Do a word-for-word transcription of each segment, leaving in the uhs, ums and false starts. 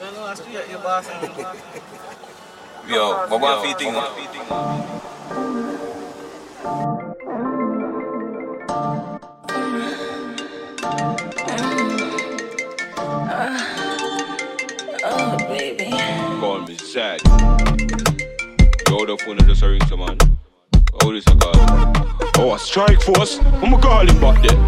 Yo, what one feet thing? Oh, baby. Call me sad. Yo, the phone just ring someone. Oh, this a call. Oh, a strike force? I'ma call him back there.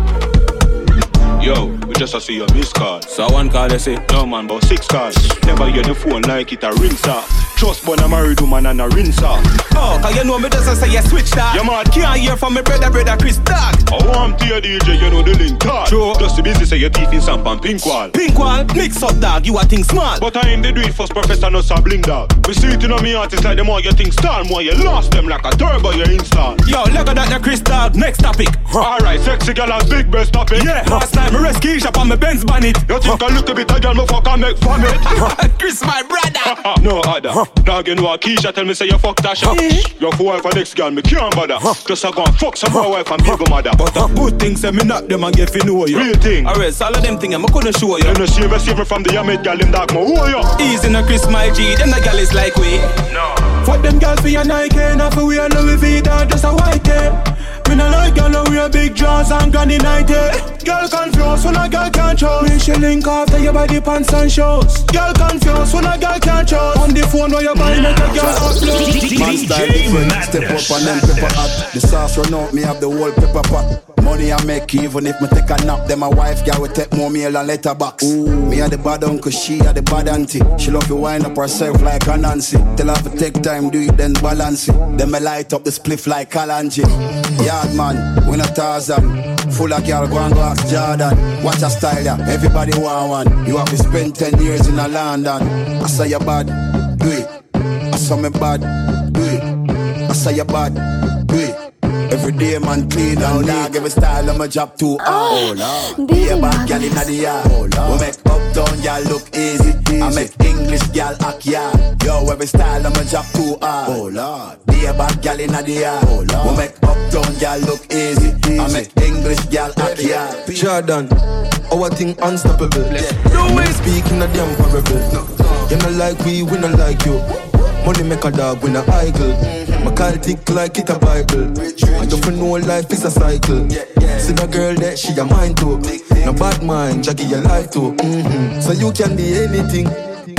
Yo, we just a see your missed call. So one call they say, no man, but six calls. Never hear the phone like it a rinse off. Trust but a married woman and a rinse off. Oh, cause you know me just a say you switch that. You mad? Can't hear from me brother, brother Chris Dog. Oh, I'm to your D J, you know the link talk. True. Just the busy say your teeth in Samp and pink wall. Pink wall, mix up dog, you a think smart. But I ain't the do it first, Professor no sabling dog. We see it in on me artists like the more you think star, more you lost them like a turbo you install. Yo, look at that the Chris Dog, next topic. Alright, sexy girl has big breast topic. Yeah, last night me rescue Keisha on my Benz bonnet. You think I look a bit a girl, me fuck and make fun it. Chris my brother. No other. Dog you know a Keisha tell me say you fuck Tasha. Your for wife and next girl me can't bother. Just a go and fuck some more wife and baby mother. But a good thing say me knock them and get fi know you. Real thing. Alright, all of them thing I couldn't show you. You know save a save me from the Yamid girl them dog mo who you? Easy no Chris my G, them the girl is like we. No. Fuck them girls for your Nike, not for we a Louis V, dog just a white day. Me no like girl no wear big drawers and granny nighty. Girl confused when a girl can't choose. Me she link after your body pants and shoes. Girl confused when a girl can't choose. On the phone where you buy make a girl upload. Man style different, step up and then pepper hot. The sauce run out, me have the whole pepper pot. Money I make even if me take a nap. Then my wife girl will take more meal and letterbox. Me a the bad uncle, she a the bad auntie. She love to wind up herself like a Nancy. Tell her to take time, do it then balance it. Then me light up the spliff like Kalanji. Yard man, we not Tarzan. Full of girl, go and go ask Jordan. Watch a style ya, everybody want one. You have to spend ten years in a London. I say you bad, do it. I saw me bad, do it. I say you bad, do it. Every day man clean and dog. Every style of my job too hard. Oh Lord, be a bad girl inna the yard. Oh Lord, we make uptown girl look easy. I make English girl act yard. Yo, every style of my job too hard. Oh Lord, be a bad girl inna the yard. Oh Lord, we make uptown girl look easy. I make English girl act yard. Jordan, our thing unstoppable. No way speaking a damn parable. You not like we, we not like you. Money make a dog, we not idle. My call tick like it a Bible. I don't know life is a cycle. See the girl that she a mind too. No bad mind, Jackie your life too. Mm-hmm. So you can be anything,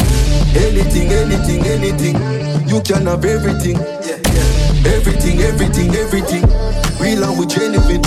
anything, anything, anything. You can have everything, everything, everything, everything. Real and we genuine,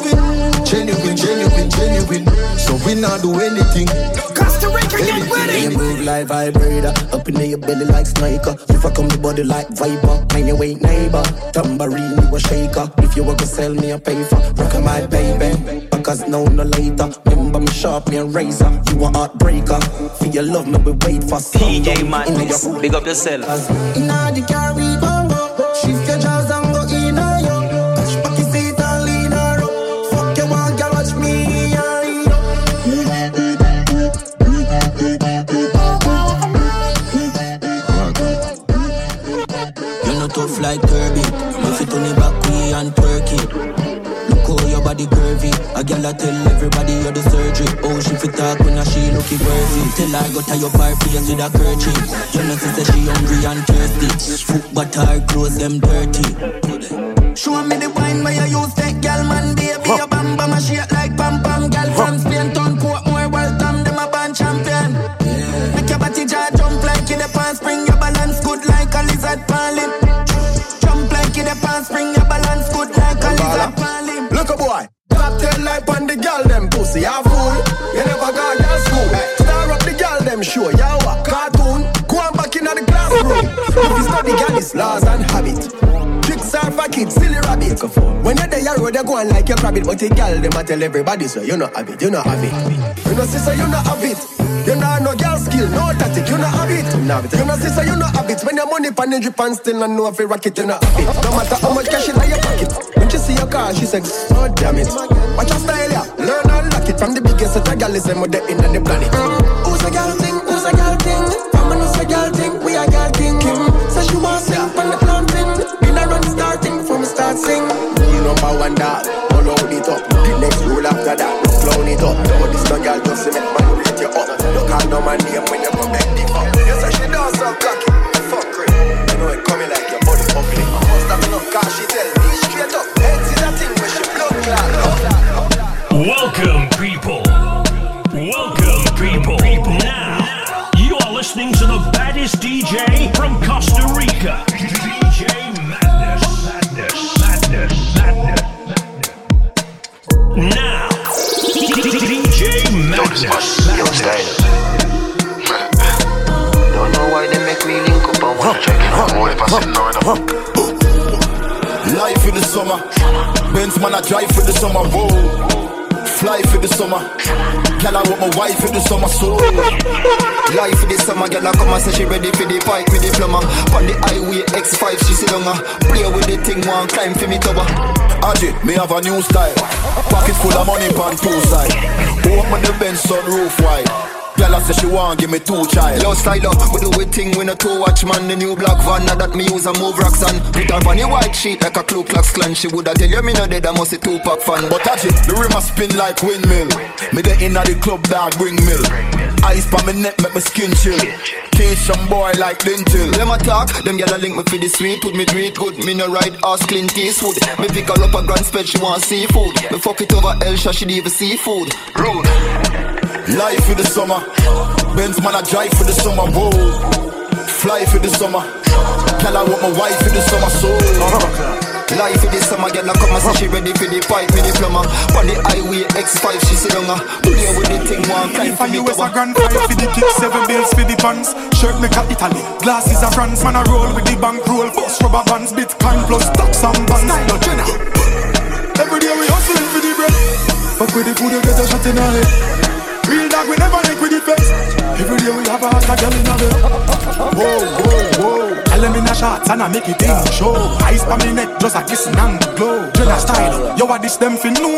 genuine, genuine, genuine. So we not do anything. Costa Rica, get ready. You move like vibrator, up in your belly like sniper. If I come the body like viper, mind your weight neighbor. Tambourine, you a shaker. If you want to sell me a paper, rock my baby. Because now no later. Remember me sharp, me a razor. You a heartbreaker. For your love, me we wait for some. D J Madness, big up yourself. Inna the car we gon' go. Shift your jaws and go in a yo. Touch back your seat and lean her up. Fuck your one, girl, watch me and read up. You're not tough like Kirby. If it on the back, we and twerk it. Look how your body curvy. A girl I tell everybody you're the surgery. Oh, she fit talk when a she looking worthy. Tell her go tie up her face with a kerchief. You know she say she hungry and thirsty. Foot but her clothes them dirty. Show me the wine where you use that girl man, baby. Your bam bam a shake like pam pam. Girl from Spain, town Portmore, Waltham, them a band champion. Yeah. Make your body jaw jump like in the pants, spring your balance good like a lizard palm. Jump like in the pants, spring your balance good like a lizard palm. Look a boy, top ten like on the girl them pussy, you fool. You never got your school. Star up the girl them show, you a cartoon. Go on back in the classroom. If you study girl, it's laws and habit. Tricks are for kids, silly rabbit. When you're there, road, you're going like your rabbit. But the girl, them a tell everybody, so you not have it, you not have it. You know, sister, you not have it. You know, no girl skill, no tactic, you not have it. You know, sister, you not have it. When your money pan the drip and still not know if you rock it, you not have it. No matter how much cash in your pocket. When she see your car, she says, oh damn it. Watch your style, yeah. Learn and lock it. From the biggest set of girl, is them with the in on the planet. Who's a girl thing? Who's a girl thing? Mama knows a girl thing. We a girl king. Kim says she want sing from the planting. In a run starting from start sing. You number one dog, all out it up. The next rule after that, clown it up. But this no girl just make man rate you up. Don't call no man name when you come back the fuck. J from Costa Rica. D J Madness, Madness, Madness, Madness. Now, D J Madness, Madness. Don't know why they make me link up and wanna check it out. Life in the summer, Benz man I drive for the summer, whoa. Fly for the summer, can I want my wife for the summer, so life for the summer, girl I come and say she ready for the fight with the plumber. On the highway X five, she sit down, play with the thing, one climb for me tower. Aji, me have a new style, pocket full of money pan two side. Open the Benz sunroof wide. Girl, I say she want give me two child. Yo, style up, we do a thing when a two watch man. The new black van, now that me use a move rocks on. Put her on the white sheet like a Ku Klux Klan. She woulda tell you me no dead, I must a two-pack fan. But touch it, the rim a spin like windmill. Me the inna the club dog bring mill. Ice pa me neck make me skin chill. Cage some boy like Lintil. Them a talk, them gyal a link me for the sweet. Put me treat good, me no ride ass Clint Eastwood. Me pick her up a grand spread, she want seafood. Me fuck it over Elsha, she leave a seafood. Rude. Life for the summer, Benz man I drive for the summer, whoa. Fly for the summer, can I want my wife for the summer, so life for the summer, girl I come and say she ready for the fight with the plumber. On the highway X five, she sit down, play with the thing, one climb for me U S a grand five for the kick, seven bills for the pants. Shirt make a Italy, glasses a France. Man a roll with the bank roll, bust rubber bands, Bitcoin plus stocks and bonds. Style Jenna. Every day we hustling for the bread. Fuck with the food, you get a shot in our head. Real dog, we never link with the face. Every day we have a hot girl in a bed. Whoa, whoa, whoa. Tell them in a shots and I make it in show. Ice pa me neck, just a kissing and glow. Jenna style, yo what this them fin know.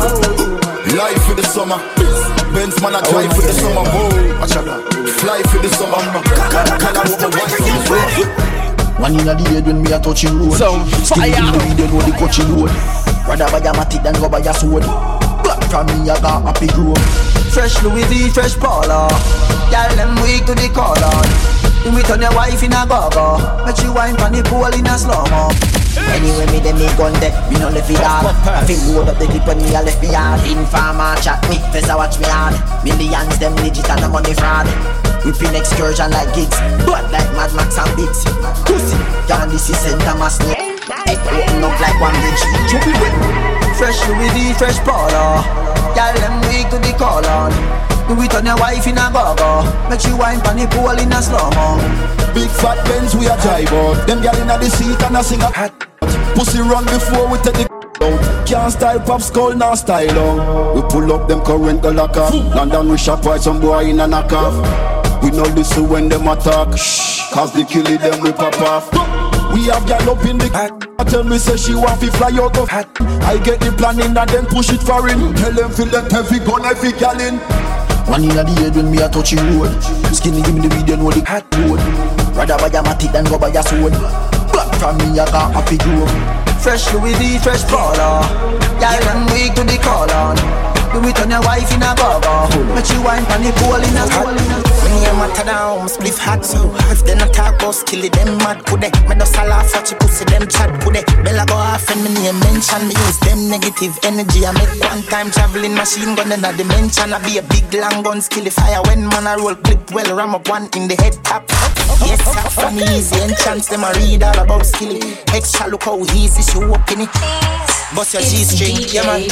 Life for the summer, Benz man I drive for the summer, whoa. Fly for the summer, can I want my wife for the summer. One in a day when me a touching road. Some fire. Still in the video know the coaching road. Rather buy a matic than go buy a sword. Black from me I got happy grove. Fresh Louis V, fresh Paula. Y'all them weak to the collar. You meet on your wife in a go-go. Make you wine from the pool in a slow-mo. Anyway, me dem me gun deck, me no left it hard. I feel load up the clip when me a left me hard. Informer chat me, first I watch me hard. Millions them legit and the money fraud. We pin excursion like gigs, blood like Mad Max and Biggs. Pussy, y'all this is Saint Thomas Nick. Head open up like one bridge. Fresh Louis V, fresh Paula. Y'all them weak to the call on. Do it on your wife in a go-go. Make you wine pan the pool in a slow-mo. Big fat Benz we a drive out. Them gyal inna the seat and a sing a hat. Pussy run before we take the out. Can't style pop skull, now style on. We pull up them current go lock off. London we shop right some boy in a knock off. We know this when them attack. Shh, cause they kill it them we pop off. We have gyal up in the hat. Tell me say she want fi fly out of hat. I get the planning and then push it for him. Tell them feel that heavy gun every gyal in. One in a day when me a touching road. Skinny give me the video know the hat road. Rather buy a matic than go buy a sword. Black from me I got happy grove. Fresh Louis V, fresh Paula. Y'all them weak to the call on. Do it on your wife in a go-go. Make you wine pan the pool in a pool. When you matter down, spliff hot so if they not talk about skill it, them mad could they? Me just a laugh at you pussy, them chat could they? Bella go off and me name mention. Me use them negative energy. I make one time traveling machine gun in a dimension. I be a big long gun skill fire when man I roll clip well ram up one in the head top. Yes, I funny easy enchants them I read all about skill. Extra look how easy she walk in it. Bust your G-string, yeah man.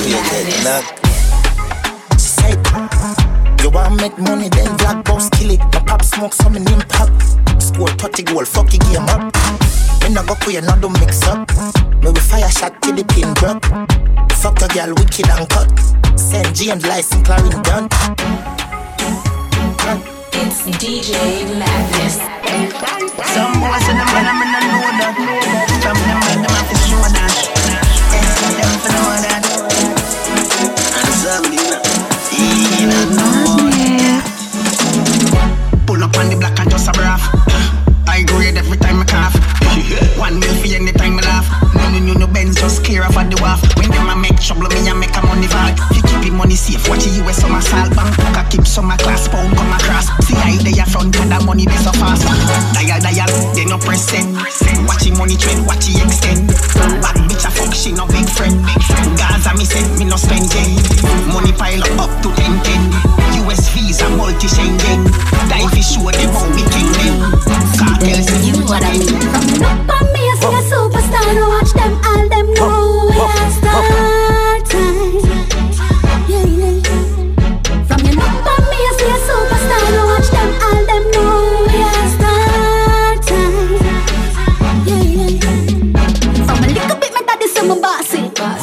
She said, you want make money then black boss kill it. My pop smoke some name pop. Score thirty goal, fuck the game up. Me no go queer, no do mix up. Me we fire shot till the pin drop. Fuck a girl wicked and cut. Send James license Clarin done. It's D J Madness. Some boys in the man, I'm in the know that. From them man, them have to show that. Tell them for know that. And something, you know. Pull up on the block and just a braff. I grade every time I cough. One mil for anytime I laugh. No, no, no, no, Benz just clear off at the wharf. When them a make trouble, me a make a money vault. You keep your money safe, watch the U S summer salt bank. I keep some a class pound come across. See I they a front and that money they so fast. Dial, dial, they no press send. Watch the money trend, watch the extend. Bad bitch a fuck, she no big friend. Gaza me send, me no spend yen. Money pile up, up to ten ten. U S Visa multi Schengen. Dive show them how we king them. Cartel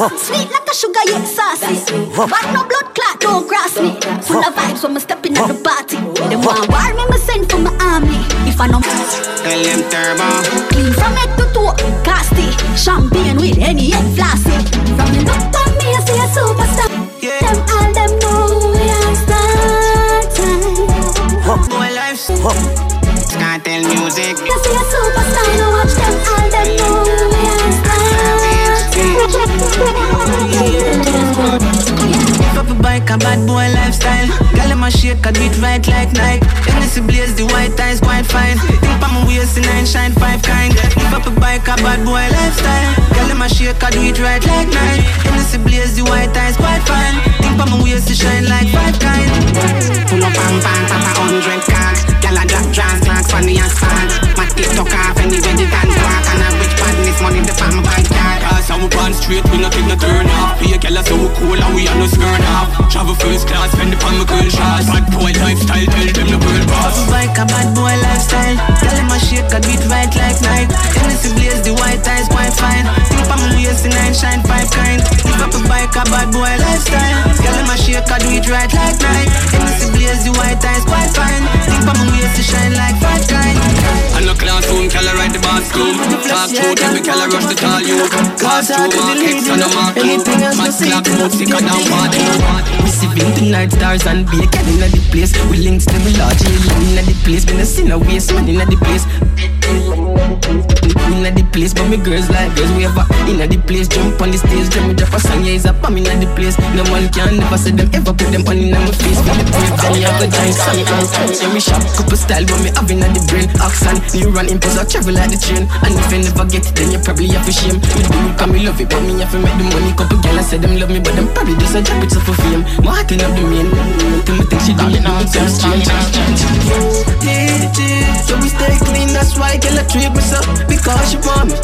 Sweet like a sugar, yeah, saucy. But no blood clot, don't cross me. Full of vibes when me step in at the party. Them want war me, me send for my army. If I know Tell them turbo. Clean from head to toe, casty. Champagne with any head flossy. From the look on me, I see a superstar. Yeah. Them all them know we are starting. Boy life, can't tell music. You see a superstar, no watch them all them know we are starting. Up a bike, a bad boy lifestyle. Girl, in my shake, I do it right like Nike. Hennessy blaze, the white eyes quite fine. Think on my waist, the nine shine five kind. If up a bike, a bad boy lifestyle. Girl, in my shake, I do it right like Nike. Hennessy blaze, the white eyes quite fine. Think on my waist, the shine like five kind. Pull up, bang, bang, papa, hundred cars. Girl, I drop drums, clocks, funny and fun. My TikTok off, anywhere the dance walk. And I rich badness, money, the palm bank card. Cause I'm born straight, we not take no turn off. Be a girl, so cool, and we are no skirt off. Travel first class, spend upon my girl shots. Bad boy lifestyle, tell them the world boss. Bike a bad boy lifestyle. Tell him I shake, I do it right like Nike. Hennessy blaze, the white eyes quite fine. Think on my waist, the nine shine five kind. If up a bike a bad boy lifestyle. Tell him I shake, I do it right like Nike. Hennessy blaze, the white eyes quite fine. Think on my waist, the shine like five kind. I no classroom, can I ride the bathroom? Talk through, tell me can I rush the tall you? Cause through markets and the market. Mad clock, mode sicker down party. We sipping tonight, stars and bacon in the place. We links them large in the place. Been a sinner waste man in the place. In the place, but me girls like girls. We ever in the place, jump on the stage. Then me drop a song, yeah, it's a bomb in the place. No one can never say them ever put them on in my face. Feel the brave, then you have a giant song. Yeah, me shop, couple style, but me having at the brain. Accent, you run impulse, I travel like the train. And if you never get it, then you probably have a shame. Me do it, cause me love it, but me have to make the money. Couple girls I say them love me, but them probably just a drop it so for fame. My heart in up the main. Till me think she do it, do it, some strange. Yeah, yeah, so we stay clean, that's why girl I treat me so. Because she want me,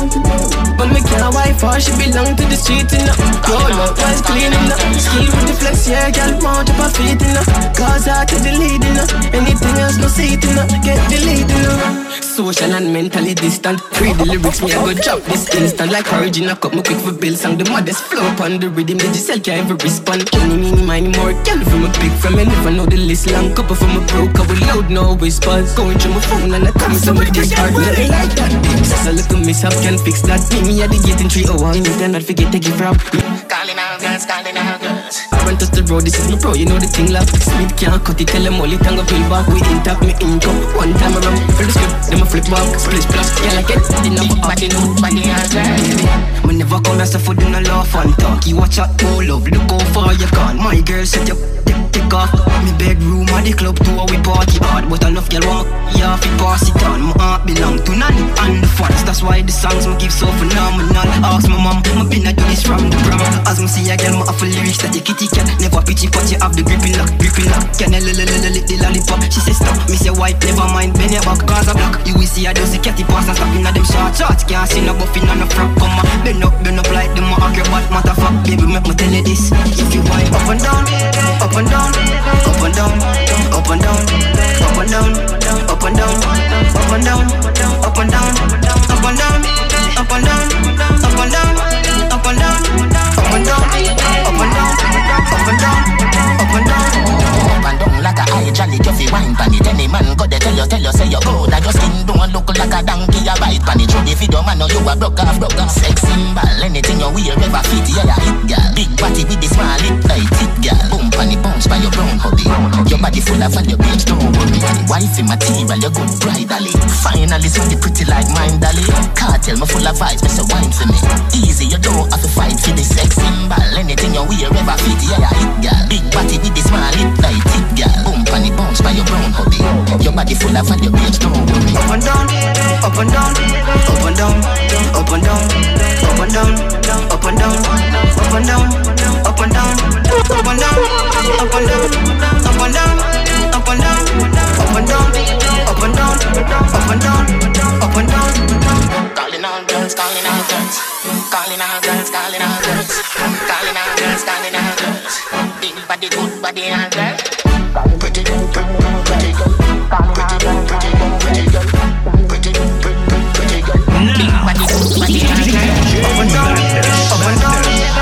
but me can't wife her, she belong to the street, you know. Roll up, was clean, you know. Ski with the flex, yeah, girl, want up her feet, you know. Cause her to the lead, you know. Anything else, no seat, you know. Get the lead, you know. Social and mentally distant. Read the lyrics, me I go drop this instant. Like origin, I cut me quick for bills. And the modest flow upon the rhythm, the Giselle can't ever respond. Any, mini, miny, more, girl from a big from me. Never know the list, long couple from a broke. I will loud, no whispers. Going through my phone and I come to my dick hard. Nothing like that, bitch. Just a little mishap can fix that. Me, me at the gate in three oh one. You cannot forget to give rap. Calling out girls, calling out girls. I run touch the road, this is my pro, you know the thing like Smith can't cut it, tell them all it and go peel back. We intact me income, one time around. Fill the script, them a flip back. Split plus, yeah like it, enough of body, no body and girl. Me never come as a food in a laugh and talk. You watch out, no love, look how far you gone. My girl set your take off. Me bedroom or the club to we party hard. But enough girl want yeah, fi pass it on. My heart belong to Nanny and the fans. That's why the songs me give so phenomenal. Ask my mom, me been a do this from the prom. As me see a girl, me have a lyrics that the kitty cat. Never pity but you have the gripping lock, gripping lock. Can I lick the lollipop? She say stop, me say white, never mind. Bend your back, cause I block. You will see a dozy catty pass and stop in a them short shots. Can't see no buffing on the front. Come on, bend up, bend up like them acrobat. Matter fuck, baby, make me tell you this. If you wind up and down, up and down, up and down, up and down, up and down, up and down, up and down, up and down, up and down, up and down, up and down, up and down, up and down, up and down, up and down, up and down. Up and down like a high jolly, you fi wine pan it. Any man go there tell you, tell you say you good. And your skin don't look like a donkey, you bite pan it. Through the video man, know you a broke off, broke off. Sex symbol, anything you wear ever fit, yeah, yeah, hit girl. Big body with the small lip, like it girl. Boom pan it, bounce by your brown hubby. Your body full of all your babes, don't worry. Wifey material, you good bridally. Finally, so you pretty like mine, dolly. Cartel, me full of vibes, me say wine for me. Easy, you don't have to fight for the sex symbol. Anything you wear ever fit, yeah, yeah, hit girl. Big body with the small lip, like it girl. Boom pan it, bounce by your brown hubby. Your body full of all your babes, don't worry. Up and down, up and down, up and down, up and down, up and down, up and down, up and down, up and down, up and down, up and down, up and down, up and down, up and down, up and down, up and down, up and down. Calling all girls, calling all girls, calling all girls, calling all girls, calling all girls, calling all girls. Big body, good body, and girls. Pretty, pretty, pretty girl. Pretty, pretty, pretty girl. Pretty, pretty, pretty girl. Big body, good body, and girls. Up and down, up and down,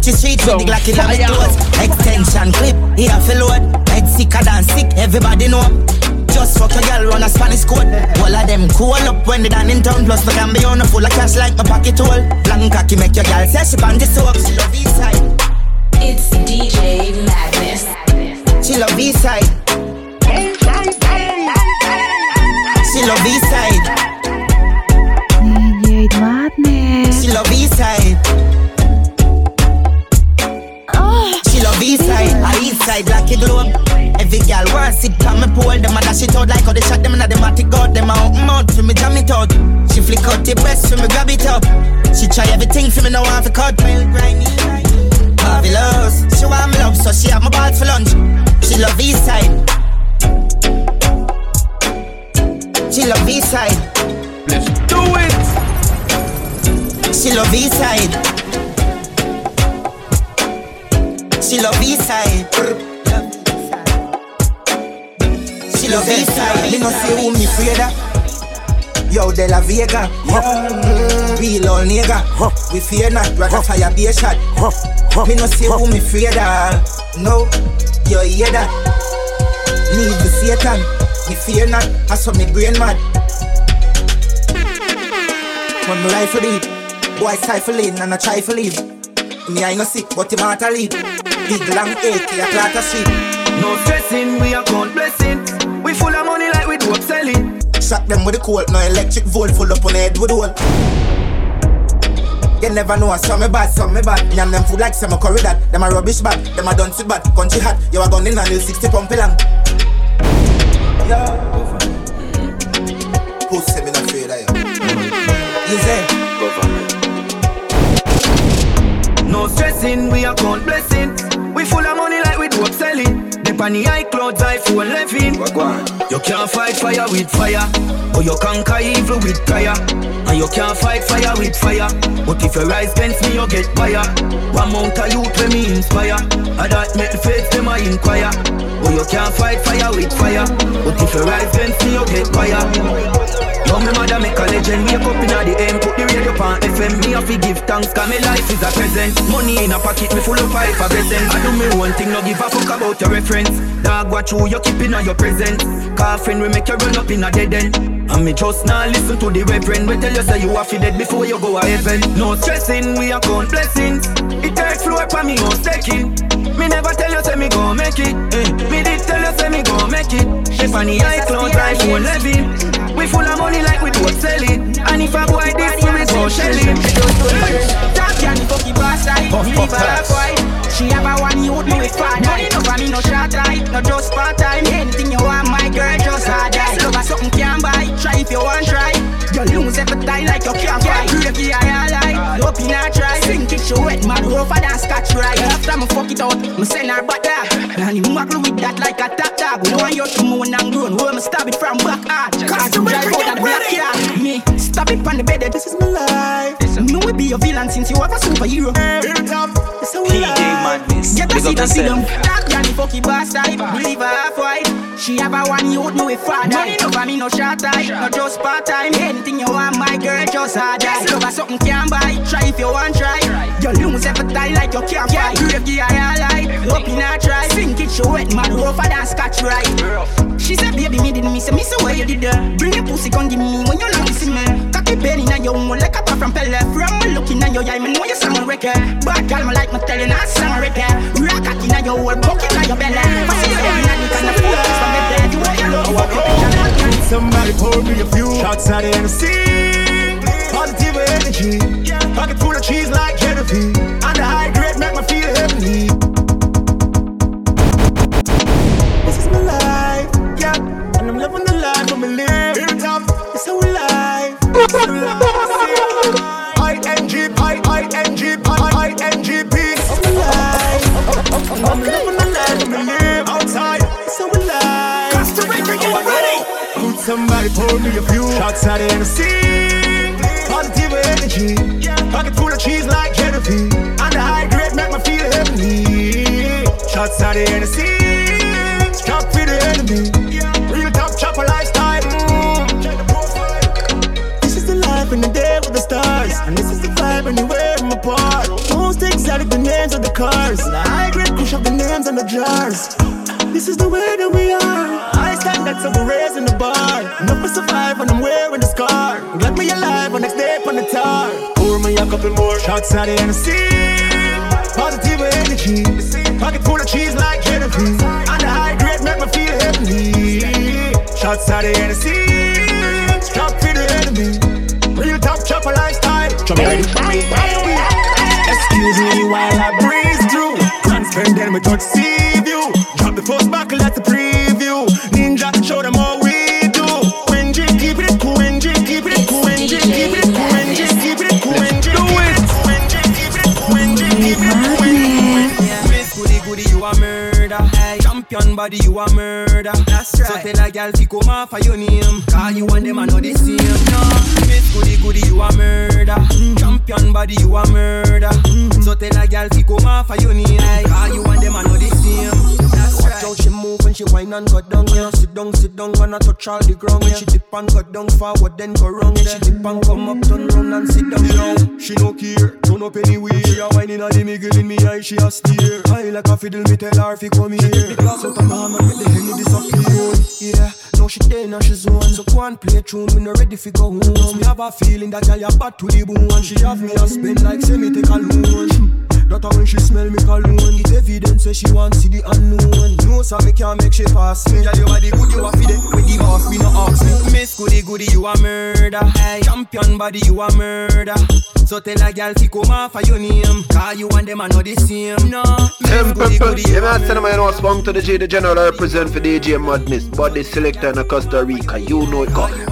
touch the streets with the Glocky on my toes. Extension clip, here for load. Head sicker than sick, everybody know. Just fuck a girl run a Spanish code. All of them cool up when they done in town. Plus me can be on a full of cash like my pocket hole. Long cocky make your girl say she pan the soap. She love east side. It's D J Madness. She love east side. She love east side. D J Madness. She love east side. Oh, she love east side. I east side like a globe. Every girl wants sit on me pole. Them a dash it out like how they shot them in the matic god. Them a open mouth for me jam it out. She flick out the breast for me grab it up. She try everything for me now have a cut. Marvelous. She want me love so she have my balls for lunch. She love east side. She love east side. Let's do it. She love east side. She love east side. She love east side. Me no see who me afraid of. Yo, De La Vega, huh. mm, real old nigga, huh. We fear not, rather huh. fire be a shot, huh. Huh. Me no see huh. who me afraid of. No, you hear that? Need the Satan, me fear not, I saw me brain mad. When me rifle it, boy stifling and I try to leave. Me I no sick, but him heart a lead. Big long A K a clatter street. No stressing, we account blessing. We full of money like we do up selling. Shock them with the cold, no electric volt full up on the head with the hole. You never know, some me bad, some me bad. Yam them food like some curry that. Them a rubbish bag, them a done sit bad. Country hot, you a gun in a little sixty pump long. Yeah. Who say me not afraid of you? Easy. No stressing, we account blessing. We full of money like we do up selling. Dip on the high clouds, iPhone eleven. You can't fight fire with fire, or you conquer evil with prayer. And you can't fight fire with fire, but if you rise against me, you get fire. One mount of youth when me inspire, and that make the faith them I inquire. Or you can't fight fire with fire, but if you rise against me, you get fire. Yo, me mother make a legend, wake up in the M, put the radio on F M. Me have to give thanks, cause my life is a present. Money in a pocket, me full of five for blessings. I do me one thing, no give a fuck about your reference. Dog, watch who you keeping on your presence. Car friend, we make you run up in a dead end. And me just now listen to the reverend. We tell you say you are dead before you go to heaven. No stressing, we account blessings. It takes floor for me, no staking. Me never tell you say me gon' make it. eh. Me did tell you say me gon' make it. If any high cloud drive won't levy. We full of money like we don't sell it. And if I buy this, we go shell it. Top can the fucking boss side. Me leave her half-white. She have a one youth, me with father. Money no for me, no short light, no just part-time. Anything you want, my girl, just hard die. Love her something can buy, try if you want try. You lose every time like you can't fight. Gravy I lie, hope you not try. Sink it, she wet, man, rougher than scotch right. After me fuck it out, me send her back there. And you muckle with that like a tap tap. We want you to moan and groan, we me stab it from back hard. Cause you drive out of the black car. Me, stop it on the bed, this is my life. Me will be a villain since you have a superhero. It's how we life. Get a seat and see them. That girl the fucking boss type. Believe her half-white. She have a one youth, me with father. Money no for me, no short time, no just part-time. Anything you want, my girl, just hard die. Love her something can buy, try if you want try. You lose every time like you can't fight. Gravy I lie, hope you not try. Sink it, she wet, man, rougher than scotch right. She said, baby, me didn't miss it, miss the way you did that. Bring your pussy, come give me when you not listen, man. Cocky penny in your own like a pop from Pele. From me looking at your eye, me know you sound record. Bad girl, me like me telling her sound record. Rock cocky in your whole bucket in your belly. I see you every night, you can afford this from the bed. You want your love, walk up in your somebody pour me a few shots out of the sea. Positive energy, pocket full of cheese like Genevieve. And the high grade make me feel heavenly. This is my life, yeah, and I'm living the life I'm live. It's how we live. It's how we live. I N G, I I N G, I N G P. It's my life. I'm living the life I'm live outside. It's how we live. Costa Rica, get ready. Could somebody pour me a few shots out of the sea? Positive energy, pocket full of cheese like Genevieve. And the high grade make me feel heavenly. Shots out of the sea, strap for the enemy. Real top chopper lifestyle. Mm. Check the profile. This is the life in the day with the stars, and this is the vibe anywhere I'm apart. Most exotic the names of in the jars. This is the way that we are. I stand that's over raising the bar. Enough to survive and I'm wearing the scar. Glad me alive on next day on the tar. Pour me a couple more shots out of Hennessy. Positive energy. Pocket full of cheese like Genevieve. And the high grade make me feel heavenly. Shots out of Hennessy. Stop for the enemy. Real top chopper lifestyle. Chop me ready. Excuse me while I breeze through. Transparent then we touch sea view. Drop the first buckle, that's the preview. Ninja, show them all we do. Quenji, keep it cool, Quenji, keep it cool, Quenji, keep it cool, Quenji, keep it cool, Quenji, do it. Quenji, keep it cool, Quenji, keep it cool, Quenji. Miss Goody Goody, you a murder. Hey, champion body, you a murder. That's right. So tell a girl fi come off of your name. Cause you and them are not the same. No, Miss Goody Goody, you a murder. Champion body, you a murder. So tell a girl fi come off of your name. Cause you and them are not the same. Watch how she move when she whine and go down. Yeah, sit down, sit down, and I touch all the ground. When she dip and go down forward, then go round. Then she dip and come up, turn round and sit down. Now she no care, turn up anywhere. She a whining at the middle in me eye, she a stare. I like a fiddle, me tell her fi come here. The glass out of my hand and make the henny disappear. Yeah, now she there, now she zone. So go and play tune, me no ready fi go home. Me have a feeling that girl ya bad to the bone. And she have me a spend like say me take a loan. That when she smell me cologne, get evidence say she want see the unknown. No, so me can't make she pass me. Yeah, you are the good, you are fi the with the boss, me no ask me. Miss Goody Goody, you a murder. Hey, champion body, you a murder. So tell a girl fi come off of your name. Cause you and them are not the same. No, Miss Goody Goody, you a murder. Yeah, man, I know spunk to the G, the general represent for D J Madness. But the selector in Costa Rica, you know it got.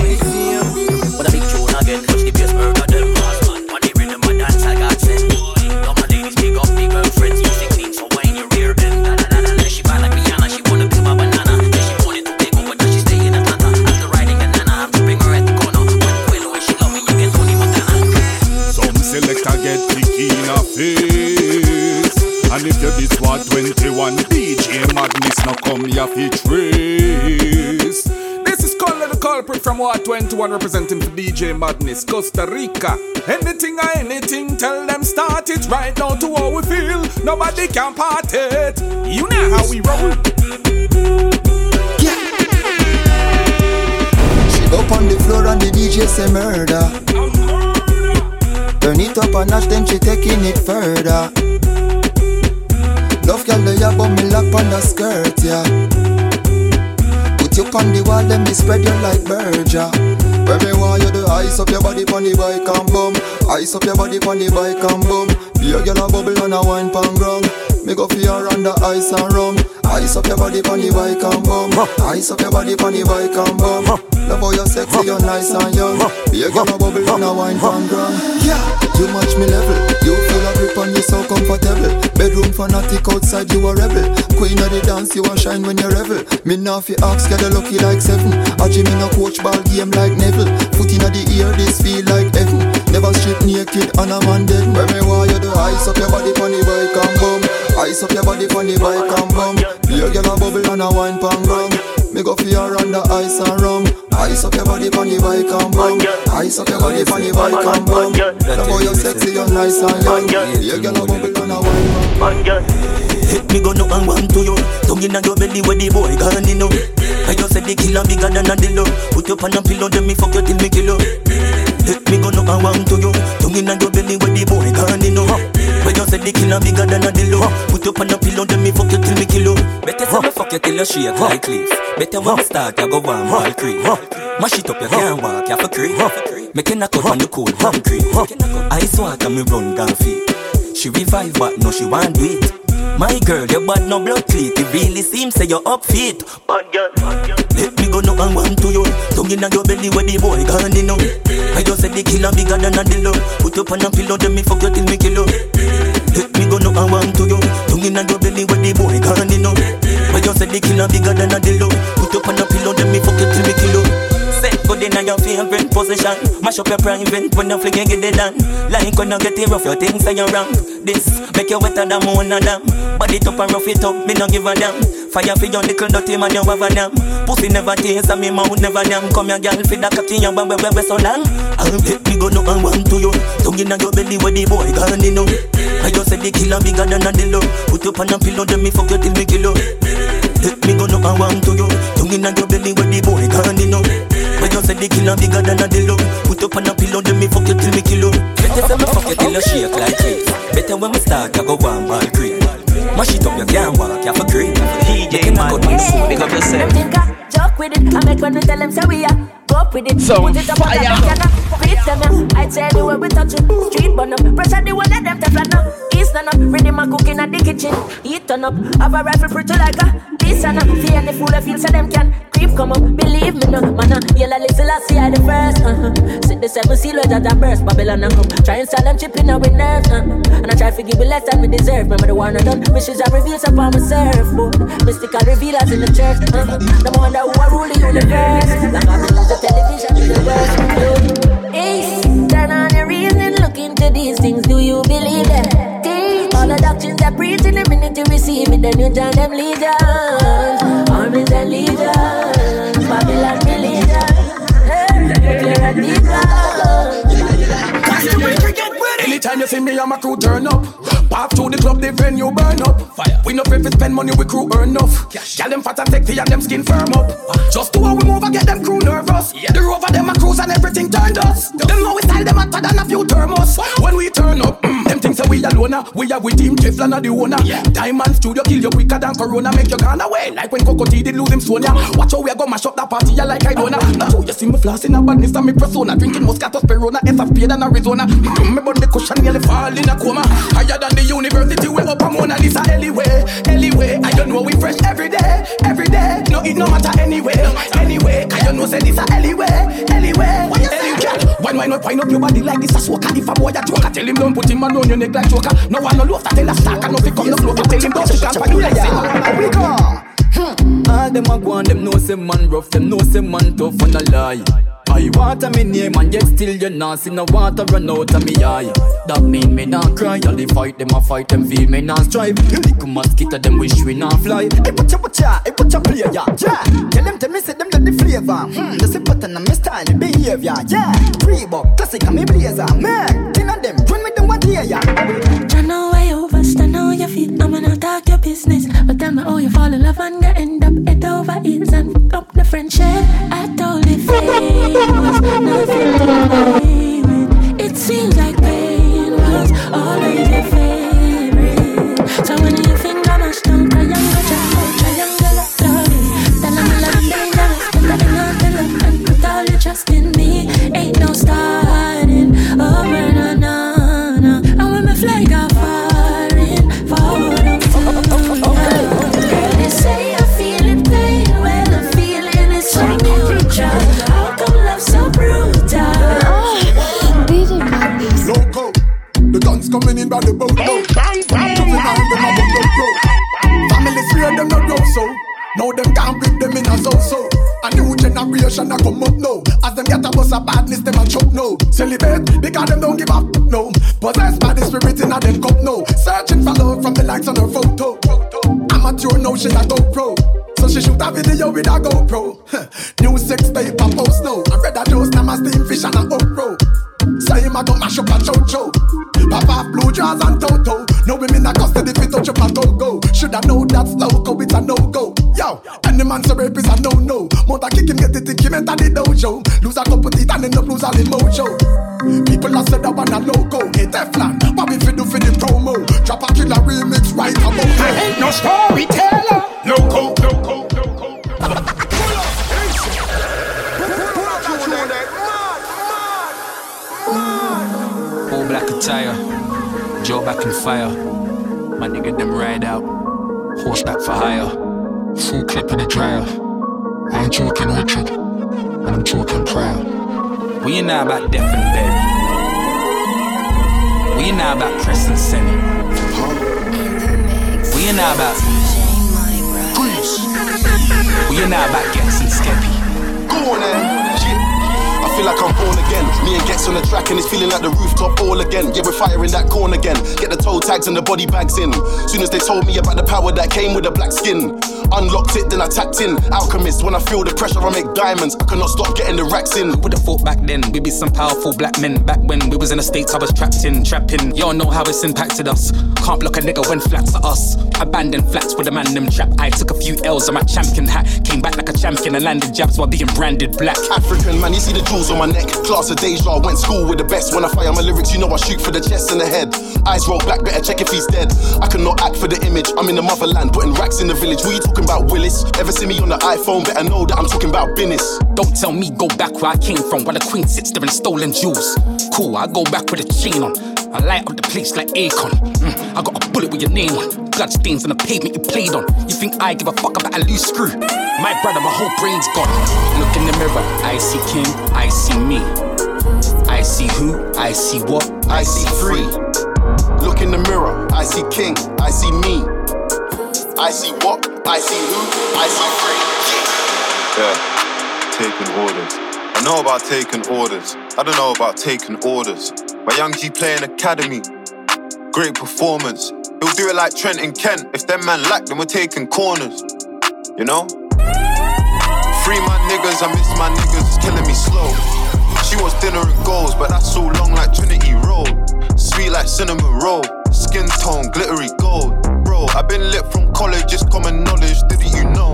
But a big tune again, touch the bass, murder them. On the rhythm of dance, I got sent. Big up, big girlfriends, music clean, so wine your rear end. La la la la la, she bad like Rihanna, she wanna be my banana. Then she wanted to take over, now she stay in Atlanta. After riding a nana, I'm to bring her at the corner. When the way she love me, you get Tony Montana. Some selector get picky in a face. And if you this what twenty-one, D J Madness now come here fi trace. This is Colin the Culprit from War twenty-one representing for D J Madness, Costa Rica. Anything or anything, tell them start it right now to how we feel. Nobody can part it. You know how we roll. Yeah. She up on the floor and the D J say murder. Turn it up a notch, then she taking it further. Love girl, they about me lock on the skirt, yeah. Put you on the wall, let me spread you like Berger. Where me want you to ice up your body pon the bike and bum. Ice up your body pon the bike and bum. Be a girl a bubble and a wine pan ground. Me go for your under ice and rum. Ice up your body pon the bike and bum. Ice up your body pon the bike and bum. Love how you're sexy, you're nice and young. Be a girl a bubble and a wine pan ground. Yeah, you match me level. You feel a grip and you so comfortable. Bedroom fanatic, outside you a rebel. Queen of the dance, you a shine when you revel. Me now fi ask, get a lucky like seven. A Jimmy no coach ball game like Neville. Foot in the ear, this feel like heaven. Never strip naked and a man dead. Where me want you to ice up your body pon the bike and bum. Ice up your body pon the bike and bum. Be a girl a bubble and a wine pan ground. Me go for your under ice and rum. Ice up your body pon the bike and bum. Ice up your body pon the bike and bum. Love how you're sexy, you're nice and young. Be a girl a bubble and a wine pan. Hit me go no and one to you. Tongue in your belly where the boy gone in. I just said the killer bigger than a dildo. Put up on a pillow, then me fuck you till me kill you. Hit me go no and one to you. Tongue in your belly where the boy gone in. I just said the killer bigger than a dildo. Put up on a pillow, then me fuck you till me kill you. Better say me fuck you till you shake like cliff. Better when me start, you go one ball creep. Mash it up, you can't walk, you have a creep. Make a knock out on the cold concrete. Ice water, me run down feet. She revive, but no, she want do it. My girl, your bad no blood cleat. It really seems say you're up feet. Bad girl, let me go no and one to you. Tongue in your belly where the boy gone in. I just said the killer bigger than a dildo. Put up on a pillow, then me fuck you till me kill you. Let me go no and one to you. Tongue in your belly where the boy gone in. I just said the killer bigger than a dildo. Put up on a pillow, then me fuck you till me kill you. Set good in your favorite position. Mash up your private when you fling and get it done. Like when you get it rough, your things are your ramp. This make you wetter than one of them. Body it up and rough it up, me no give a damn. Fire for your nickel dirty man, you have a name. Pussy never taste and me mouth never name. Come here, girl, feed the cocky, you bang, bang, bang, so long. I'll take me go no and one to you. Tongue in your belly where the boy gone, you know. I just said the killer bigger than a dildo. Put up on a pillow, then me fuck you till me kill you. Take me go no and one to you. Tongue in your belly where the boy gone, you know. I just said the killer bigger than a dildo. Put up on a pillow, then me fuck you till me kill you. Better say me fuck you till you shake like this. Better when we start, I go one ball creep. Mash it up, you can't walk, you have a creep. D J Madness, big up yourself. Joke with it, I make when we tell them so we are. Go up with it, so put it up on the back and beat them. I tell you where we touch it, street burn up. Pressure the one of them to flat up. East stand up, ready my cooking at the kitchen. Eat turn up, have a rifle pretty like a this and up. Fear any fool I feel so them can creep come up. Believe me no, man, yellow little I see I the first. Uh-huh. Sit the seven seal with that burst, Babylon and come. Try and sell them chipping out with nerves. Uh-huh. And I try to give you less than we deserve. Remember the one I done, wishes I reveals upon my surfboard. Mystical revealers in the church. Uh-huh. The one that who I rule the universe. Like I been the television is the worst. Ace, turn on your reason, look into these things. Do you believe that? All the doctrines that preach in the minute you receive it, then you join them legions. Armies and legions, Babylon religion. Clear and deep love. Customary cricket ready. Anytime you see me and my crew turn up, pop to the club, the venue burn up. Fire. We no pay for spend money, we crew earn enough. Girl them fat and sexy and them skin firm up. Just to how we move and get them crew nervous. Yeah. The rover them a cruise and everything turned us. Them know we style them hotter than a few thermos. When we turn up, them things say we alone. We are with team Kefla and the owner. Yeah. Diamond Studio kill you quicker than Corona. Make you gone away like when Coco T did lose him Sonia. Watch how we go mash up that party ya like I don't know. Now you see me flossing a badness and me persona. Drinking Moscato Sperona, S F P than Arizona. Me body cushion nearly fall in a coma. Higher than the university we up a Mona Lisa. Anyway, anyway, I don't know we fresh every day, every day. No it no matter anyway, anyway. I don't know say this a anyway, anyway. Anyway, why why not wind up your body like this a soca? If a boy a joker, tell him don't put him on your neck like choker. No one no love that tell a stack and no fi come no closer. Tell him don't stick and find you like say. We go. All them a go and them know say man rough, them know say man tough and a lie. I water me name and yet still you not see no water run out of me eye. That mean me not cry, all the fight them a fight them feel me not strive. You little mosquito them wish we not fly. Hey put your put ya, hey put your player, yeah. Tell them to me say them got the flavor. Hmm, the simple pattern of me style, the behavior, yeah. Reebok, classic and me blazer, man. Ten of them, join me them one day, yeah. I know why you overstand how you feel. I'm gonna talk your business, but tell me how you fall in love and get end up head over heels and fuck up the friendship. I told you fake. Was nothing to play with. It seems like pain was always your favorite. So when you finger mash down triangle, triangle, triangle of love, then I'm loving dangerous, but I do not love and put all your trust in me. Ain't no starting over, no, no, no. And when my flag are firing forward, I'm too okay. They say I feel it pain, well I'm feeling it so mutual. So brutal. D J Madness. Loco, the guns coming in by the boat. No, bang, bang, them a bundle family three of them not grow so. Now them can't bring them in a so-so. A new generation a come up now. As them get a bus of badness, them a choke now. Celebrate because them don't give up no. Possessed by the spirit in a them cup now. Searching for love from the likes on her photo. Amateur now she a go pro. So she shoot a video with a GoPro. New sex paper post now. I read a dose, now my steam fish and a upro. Say him a go mash up a chocho. Papa blue jaws and Toto. No women a custody if it touch up a go-go. Shoulda know that's loco, it's a no-go. Yo, any man so rape is a no-no. Mother kick him, get the tick him enter the dojo. Lose a couple teeth and end up lose all the mojo. People a said that one a loco. Hey Teflon, Bobby fi do fi the promo. Drop a killer remix right about now. I ain't no storyteller. Loco, loco, loco. All black attire, Joe back in fire. My nigga them ride out, horseback for hire. Full clip in the dryer. I ain't joking Richard, and I'm talking proud. We ain't now about Death and Berry. We ain't now about Press and Senny. We ain't now about Grease. We ain't now about Gets and Skeppy. Go on then, shit. I feel like I'm born again. Me and Gets on the track and it's feeling like the rooftop all again. Yeah, we're firing that corn again. Get the toe tags and the body bags in. Soon as they told me about the power that came with the black skin, unlocked it, then I tapped in. Alchemist, when I feel the pressure, I make diamonds. I cannot stop getting the racks in. Who would've thought back then we'd be some powerful black men? Back when we was in the States, I was trapped in, trapping. Y'all know how it's impacted us. Can't block a nigga when flats are us. Abandoned flats with a man them trap. I took a few L's on my champion hat. Came back like a champion and landed jabs while being branded black. African man, you see the jewels on my neck. Class of deja, went school with the best. When I fire my lyrics, you know I shoot for the chest and the head. Eyes roll back, better check if he's dead. I cannot act for the image. I'm in the motherland, putting racks in the village. What you talking about, Willis? Ever see me on the iPhone? Better know that I'm talking about business. Don't tell me go back where I came from, where the queen sits there in stolen jewels. Cool, I go back with a chain on. I light up the place like Akon. Mm, I got a bullet with your name on. Blood stains on the pavement you played on. You think I give a fuck about a loose screw? My brother, my whole brain's gone. Look in the mirror, I see King, I see me. I see who, I see what, I see free. Look in the mirror, I see King, I see me. I see what, I see who, I see free. Yeah, taking orders. I know about taking orders. I don't know about taking orders. My young G playing academy. Great performance. He'll do it like Trent and Kent. If them man lack, then we're taking corners. You know? Free my niggas, I miss my niggas. It's killing me slow. She wants dinner and goals, but that's so long like Trinity Road. Sweet like cinnamon roll. Skin tone, glittery gold. Bro, I've been lit from college, it's common knowledge, didn't you know?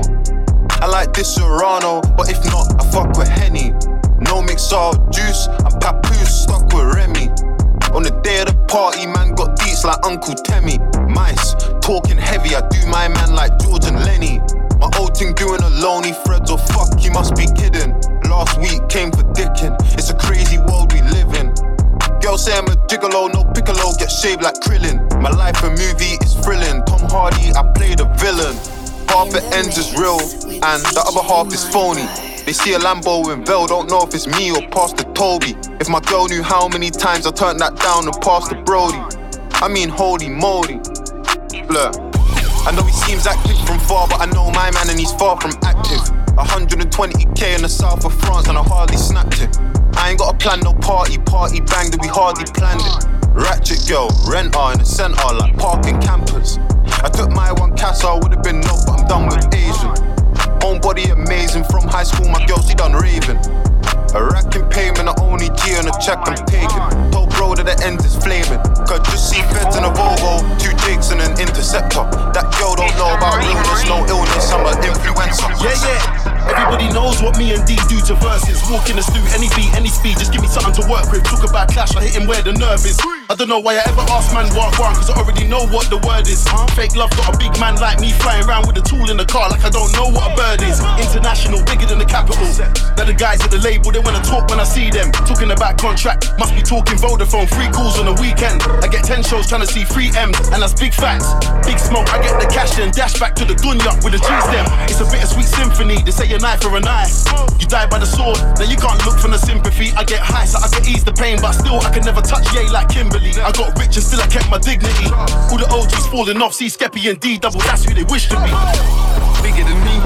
I like this Serrano, but if not, I fuck with Henny. No mixer juice, I'm papoose, stuck with Remy. On the day of the party, man got deets like Uncle Temmie. Mice, talking heavy, I do my man like George and Lenny. My old thing doing alone, he threads or fuck, he must be kidding. Last week came for dicking, it's a crazy world we live in. Girls say I'm a gigolo, no piccolo, get shaved like Krillin. My life a movie is thrilling, Tom Hardy, I play the villain. Half it ends is real, and the other half is phony. They see a Lambo in Vel, don't know if it's me or Pastor Toby. If my girl knew how many times I turned that down and passed to Brody. I mean, holy moly. Look, I know he seems active from far, but I know my man and he's far from active. one hundred twenty K in the south of France and I hardly snapped it. I ain't got a plan, no party, party bang, that we hardly planned it. Ratchet girl, renter in the centre like parking campers. I took my one casa, I would've been no, but I'm done with Asian. Own body amazing, from high school my girl, she done raving. A rack in payment, the only G on a check I'm taking. Told bro that the end is flaming. Could just see feds in a Volvo, two Jakes and an Interceptor. That girl don't know about illness, no illness, I'm an influencer. Yeah, yeah. Everybody knows what me and D do to verses. Walk in the stew, any beat, any speed, just give me something to work with. Talk about clash, I hit him where the nerve is. I don't know why I ever ask man what one, cause I already know what the word is. Fake love got a big man like me flying around with a tool in the car like I don't know what a bird is. International, bigger than the capital. Now the guys at the label, they wanna talk when I see them. Talking about contract, must be talking Vodafone. Free calls on the weekend. I get ten shows trying to see three M's, and that's big facts. Big smoke, I get the cash then dash back to the dunya with a G-stem. It's a bittersweet symphony, they say a knife or a knife. You die by the sword, then you can't look for the sympathy. I get high so I can ease the pain, but still I can never touch Ye like Kimberly. I got rich and still I kept my dignity. All the O Gs falling off, see Skeppy and D double, that's who they wish to be. Bigger than me,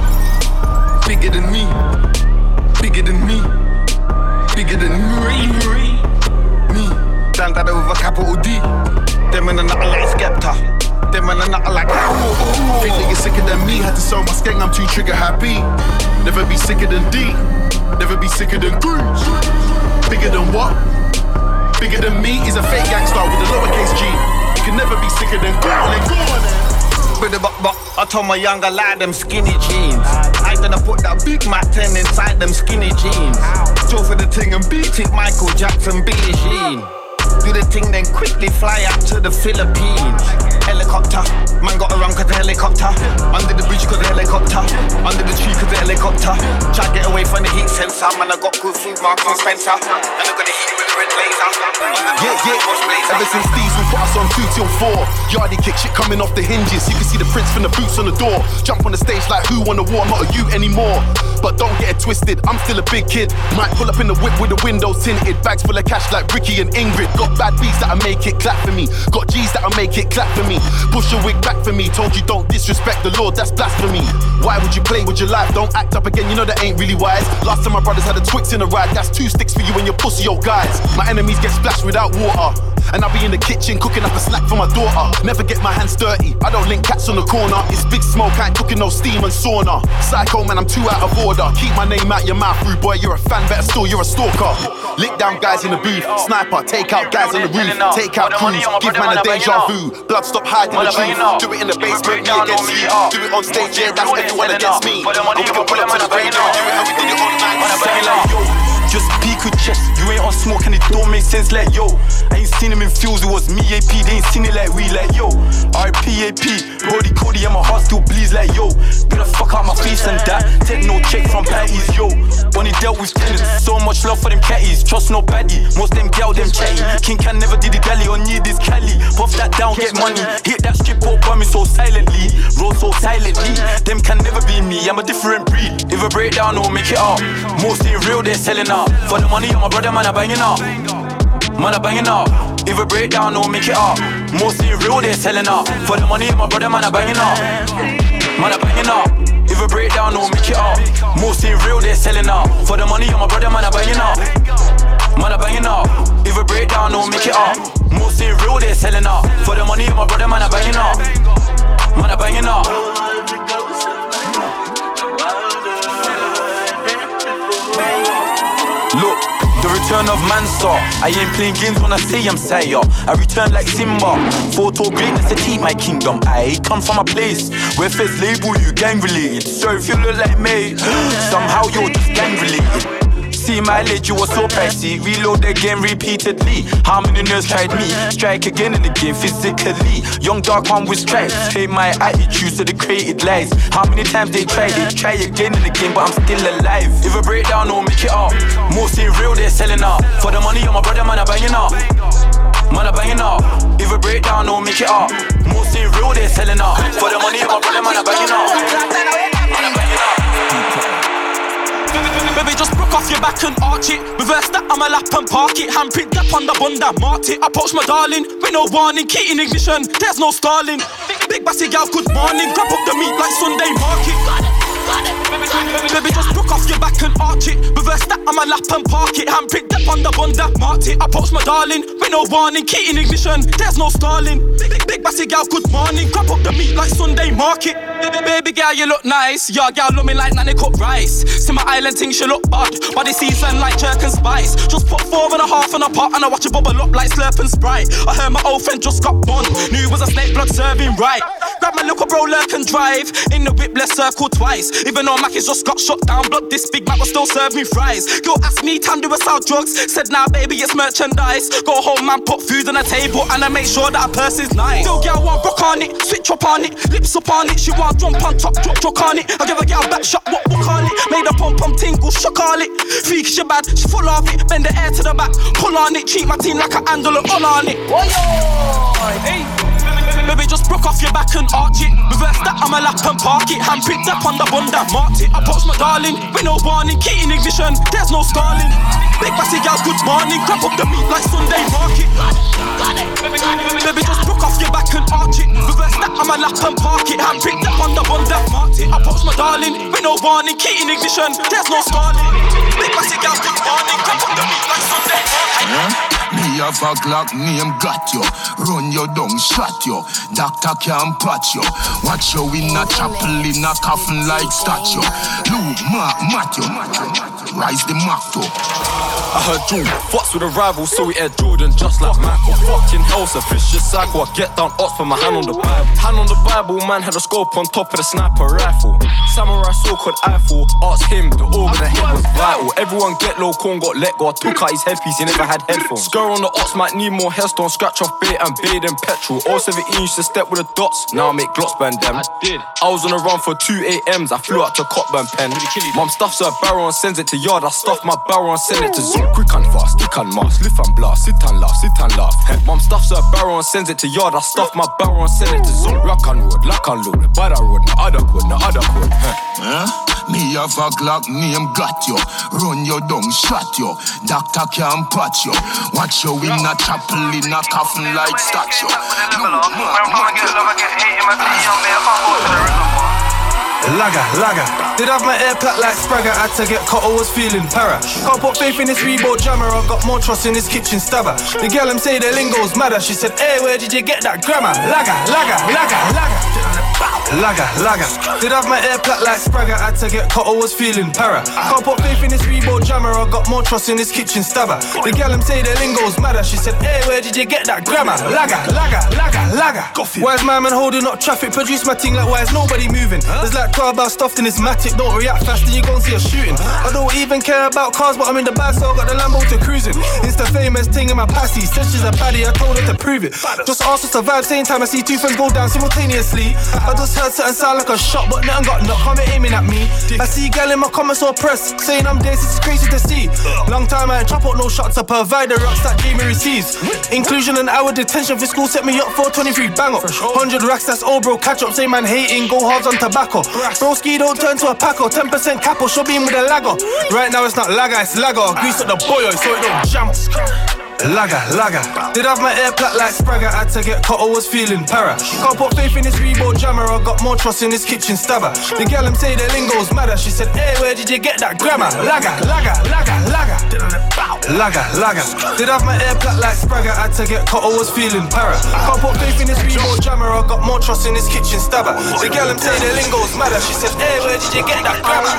bigger than me, bigger than me, bigger than me, me. Down that over capital D. Them in a nut like Skepta. Them in a nut like Think that you're sicker than me. Had to sell my skeng, I'm too trigger happy. Never be sicker than D. Never be sicker than Goose. Bigger than what? Bigger than me is a fake gangster with a lowercase G. You can never be sicker than Goose. But, but, but I told my younger lad them skinny jeans. I done put that Big Mac ten inside them skinny jeans. Go for the thing and beat it, Michael Jackson, Billie Jean. Do the thing then quickly fly out to the Philippines. Helicopter, man got around cause the helicopter. Under the bridge cause the helicopter. Under the tree cause the helicopter. Try to get away from the heat sensor. Man, I got good food, Marks and Spencer. And I'm gonna hit you with the red laser. Yeah, yeah, ever since Diesel put us on two till four. Yardie kick shit coming off the hinges. You can see the prints from the boots on the door. Jump on the stage like who won the war, not a you anymore. but don't get it twisted. I'm still a big kid. Might pull up in the whip with the windows tinted. Bags full of cash like Ricky and Ingrid. Got bad beats that'll make it clap for me. Got G's that'll make it clap for me. Push your wig back for me. Told you don't disrespect the Lord, that's blasphemy. Why would you play with your life? Don't act up again, you know that ain't really wise. Last time my brothers had a Twix in a ride. That's two sticks for you and your pussy old guys. My enemies get splashed without water. And I'll be in the kitchen cooking up a snack for my daughter. Never get my hands dirty, I don't link cats on the corner. It's big smoke, I ain't cooking no steam and sauna. Psycho man, I'm too out of order. Keep my name out your mouth, rude boy, you're a fan, better still, you're a stalker. Lick down guys in the booth, sniper, take out guys on the roof. Take out crews, give man a deja vu. Blood stop hiding the truth. Do it in the basement, me against you. Do it on stage, yeah, that's everyone against me. And we can pull up to the radio, do it how we did it all night. Just peek with chest, you ain't on smoke and it don't make sense like yo. I ain't seen him in fields, it was me A P, they ain't seen it like we like yo. R P A P, Brody Cody and my heart still bleeds like yo. Get the fuck out my face and that, take no check from patties yo. Only dealt with tenants, so much love for them catties, trust nobody, most them gal them chatty. King can never did the galley or need this Cali. Puff that down, get money, hit that strip up by me so silently, roll so silently. Them can never be me, I'm a different breed. If a breakdown or make it up, most ain't real, they're selling up. For the money, I'm a brother, man, I banging up. Man, I banging up. If a breakdown, don't make it up. Mostly real, they're selling up. For the money, I'm a brother, man, I banging up. Man, I banging up. If a breakdown, don't make it up. Mostly real, they're selling up. For the money, I'm a brother, man, I banging up. Man, I banging up. If a breakdown, don't make it up. Mostly real, they're selling up. For the money, I'm a brother, man, I banging up. Man, I banging up. Look, the return of Mansa. I ain't playing games when I say I'm Sire. I return like Simba. Photo greatness to keep my kingdom. I come from a place where first label you gang related. So if you look like me, somehow you're just gang related. See my leg, you was so pricey. Reload again repeatedly. How many nerds tried me? Strike again in the game physically. Young dark one with stripes. Hate my attitude, so they created lies. How many times they tried it? Try again in the game, but I'm still alive. If a breakdown, don't make it up. Most ain't real, they're selling up. For the money, I'm my brother, man, I banging up. Man, I banging up. If a breakdown, don't make it up. Most ain't real, they're selling up. For the money, I'm my brother, man, I banging up. Man, I banging up. Baby, just broke off your back and arch it. Reverse that, I'ma lap and park it. Handprint that on the bun that marked it. Approach my darling, with no warning. Key in ignition, there's no stalling. Big bassy gal, good morning. Grab up the meat like Sunday market. Baby, just broke off your back and arch it. Reverse that, I'ma lap and park it. Handprint that on the bun that marked it. Approach my darling, with no warning. Key in ignition, there's no stalling. Big, big bassy gal, good morning. Grab up the meat like Sunday market. Baby girl, you look nice. Your girl love me like nanny cooked rice. See my island thing, she look odd. Body season like jerk and spice. Just put four and a half in a pot and I watch it bubble up like slurp and Sprite. I heard my old friend just got bond. Knew it was a snake blood serving right. Grab my little bro, lurk and drive. In the whip, let's circle twice. Even though Mackie's just got shut down, blood this big Mac will still serve me fries. Girl asked me, time do I sell drugs? Said nah baby, it's merchandise. Go home man, put food on the table and I make sure that her purse is nice. Still girl want rock on it, switch up on it, lips up on it. She want jump on top, drop, drop on it. I give a girl back shot, what, what call it? Made a pump, pump, tingle, shock all it. Freak, she bad, she full of it. Bend the air to the back, pull on it. Treat my team like a handle and all on it. Oh, yo. Hey. Baby, just broke off your back and arch it. Reverse that, I'ma lap and park it. Handprint that on the bun that marked it. Approach my darling, with no warning. Key in ignition, there's no stalling. Big bassy gal, good morning. Grab up the meat like Sunday market. Baby, just broke off your back and arch it. Reverse that, I'ma lap and park it. Handprint that on the bun that marked it. Approach my darling, with no warning. Key in ignition, there's no stalling. Big bassy gal, good morning. Grab up the meat like Sunday market. Yeah? Me have a Glock name got you. Run you down, shot you. Doctor can't patch you. Watch you in a chapel in a coffin like statue. Luke, Mark, Matthew. Rise the Macto. I heard Drew fucks with a rival, so we aired Jordan just like Michael. Fucking hell's a vicious cycle. I get down odds, put my hand on the Bible. Hand on the Bible, man had a scope on top of the sniper rifle. Samurai sword called Eiffel. Asked him, the organ of the head was vital. Everyone get low, corn got let go. I took out his headpiece, he never had headphones. Girl on the ox might need more headstone. Scratch off bait and bait and petrol. oh seventeen used to step with the dots. Now I make glots burn them. I did. I was on a run for two A Ms. I flew out to Cockburn Pen. Mum stuffs her barrel and sends it to yard. I stuff my barrel and send it to Zoom. Quick and fast, stick and mask, lift and blast, sit and laugh, sit and laugh. Mum stuffs her barrel and sends it to yard. I stuff my barrel and send it to Zoom. Rock and road, lock and load. By the road, no other code, no other code. Huh? Me have a Glock name got you. Run you down, shot you. Doctor can't patch you. Watch you in a chapel in a coffin like statue. Lagger, lagger. Did have my air plat like Spragger. Had to get caught, I was feeling para. Can't put faith in this Reebok jammer. I got more trust in this kitchen stabber. The girl them say the lingo's madder. She said, hey, where did you get that grammar? Lagger, lagger, lagger, lagger. Lagger, lagger. Did have my air plat like Spragger. Had to get caught, I was feeling para. Can't put faith in this Reebok jammer. I got more trust in this kitchen stabber. The girl them say the lingo's madder. She said, hey, where did you get that grammar? Lagger, lagger, lagger, lagger. Why's my man holding up traffic? Produce my thing like why is nobody moving? There's like twelve bar stuffed in this matic. Don't react fast and you gon' see a shooting. I don't even care about cars, but I'm in the bag, so I got the Lambo to cruising. Insta famous thing in my passy. Said she's a baddie, I told her to prove it. Just asked to survive, same time I see two friends go down simultaneously. I just heard something sound like a shot, but nothing got knocked, come aiming at me. I see gal in my comments or press saying I'm dead, it's crazy to see. Long time I ain't chop out no shots to provide the rocks that Jamie receives. Inclusion and hour detention for school set me up for twenty-three bang up. one hundred racks, that's all bro, catch up, say man hating, go hard on tobacco. Broski don't turn to a packer, ten percent capo, show beam with a lagger. Right now it's not lagger, it's lagger. Grease up the boyo so it don't jam. Lagger, lagger. Did have my air plat like Spragger. Had to get caught, I was feeling para. Can't put faith in this Reebok jammer. I got more trust in this kitchen stabber. The girl them say the lingo's madder. She said, hey, where did you get that grammar? Lagger, lagger, lagger, lagger. Lagger, lagger. Did have my air plat like Spragger. Had to get caught, I was feeling para. Can't put faith in this Reebok jammer. I got more trust in this kitchen stabber. The girl them say the lingo's madder. She said, hey, where did you get that grammar?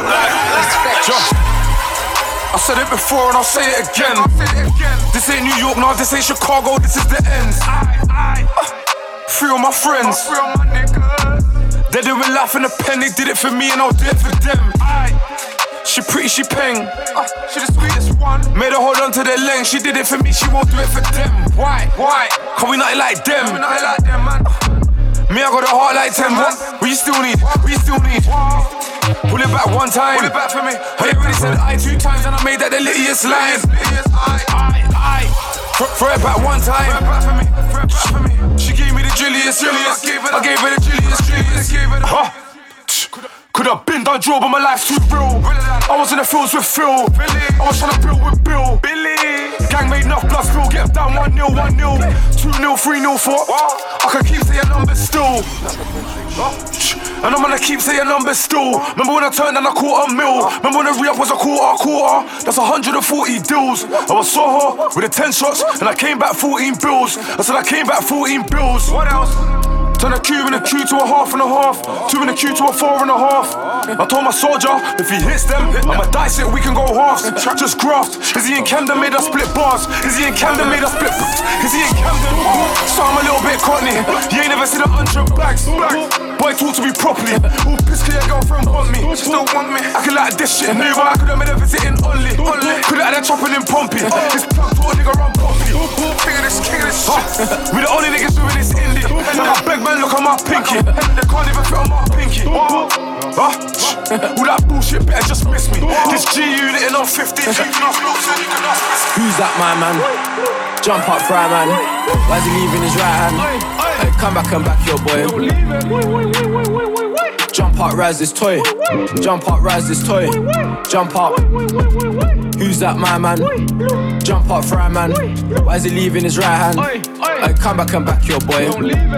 I said it before and I'll say it again. This ain't New York, no, this ain't Chicago, this is the end. Uh, free all my friends. They doing life in a pen, they did it for me and I'll do it for them. She pretty, she peng. She the sweetest one. Made her hold on to their length, she did it for me, she won't do it for them. Why? Why? Cause we not like them. We not like them, man. Me, I got a heart like ten, what? We still need, we still need. Pull it back one time. Pull it back for me. I already said I two times and I made that the littiest line. I, I, throw it back one time. Throw it back for me. Throw it back for me. She gave me the drilliest, drilliest. I gave her the drilliest, drilliest. Huh? Could have been done drill, but my life's too real. I was in the fields with Phil. I was trying to build with Bill. Billy. Gang made enough blood spill. Get down one nil, one nil, two nil, three nil, four. I can keep saying numbers still. And I'm gonna keep saying numbers still. Remember when I turned down a quarter mil? Remember when the re-up was a quarter, a quarter? That's one hundred forty deals. I was Soho with the ten shots and I came back fourteen bills. I said I came back fourteen bills. What else? Turn a cube in a Q to a half and a half. Two in a Q to a four and a half. I told my soldier, if he hits them, I'ma dice it, we can go halves. Just graft. Is he in Camden, made us split bars? Is he in Camden, made us split bricks? Is he in Camden? So I'm a little bit cockney. You ain't never seen a hundred bags. Boy, talk to me properly. Who pissed cause your girlfriend want me? She still want me. I could like this shit. Knew but I could've made her visit in Only. Could've had her chopping in Pompey. This plug to a nigga run Pompey. King of this, king of this shit. We the only niggas doing this indie. Now I beg man, look at my pinky. They can't even fit on my pinky. Huh? All that bullshit better just miss me. This G unit in on fifty. Who's that my man? Jump up, fry man. Why's he leaving his right hand? Hey, come back and back your boy. Jump up, rise this toy. Jump up, rise this toy. Jump up. Who's that my man? Jump up, fry man. Why's he leaving his right hand? Hey, come back and back your boy.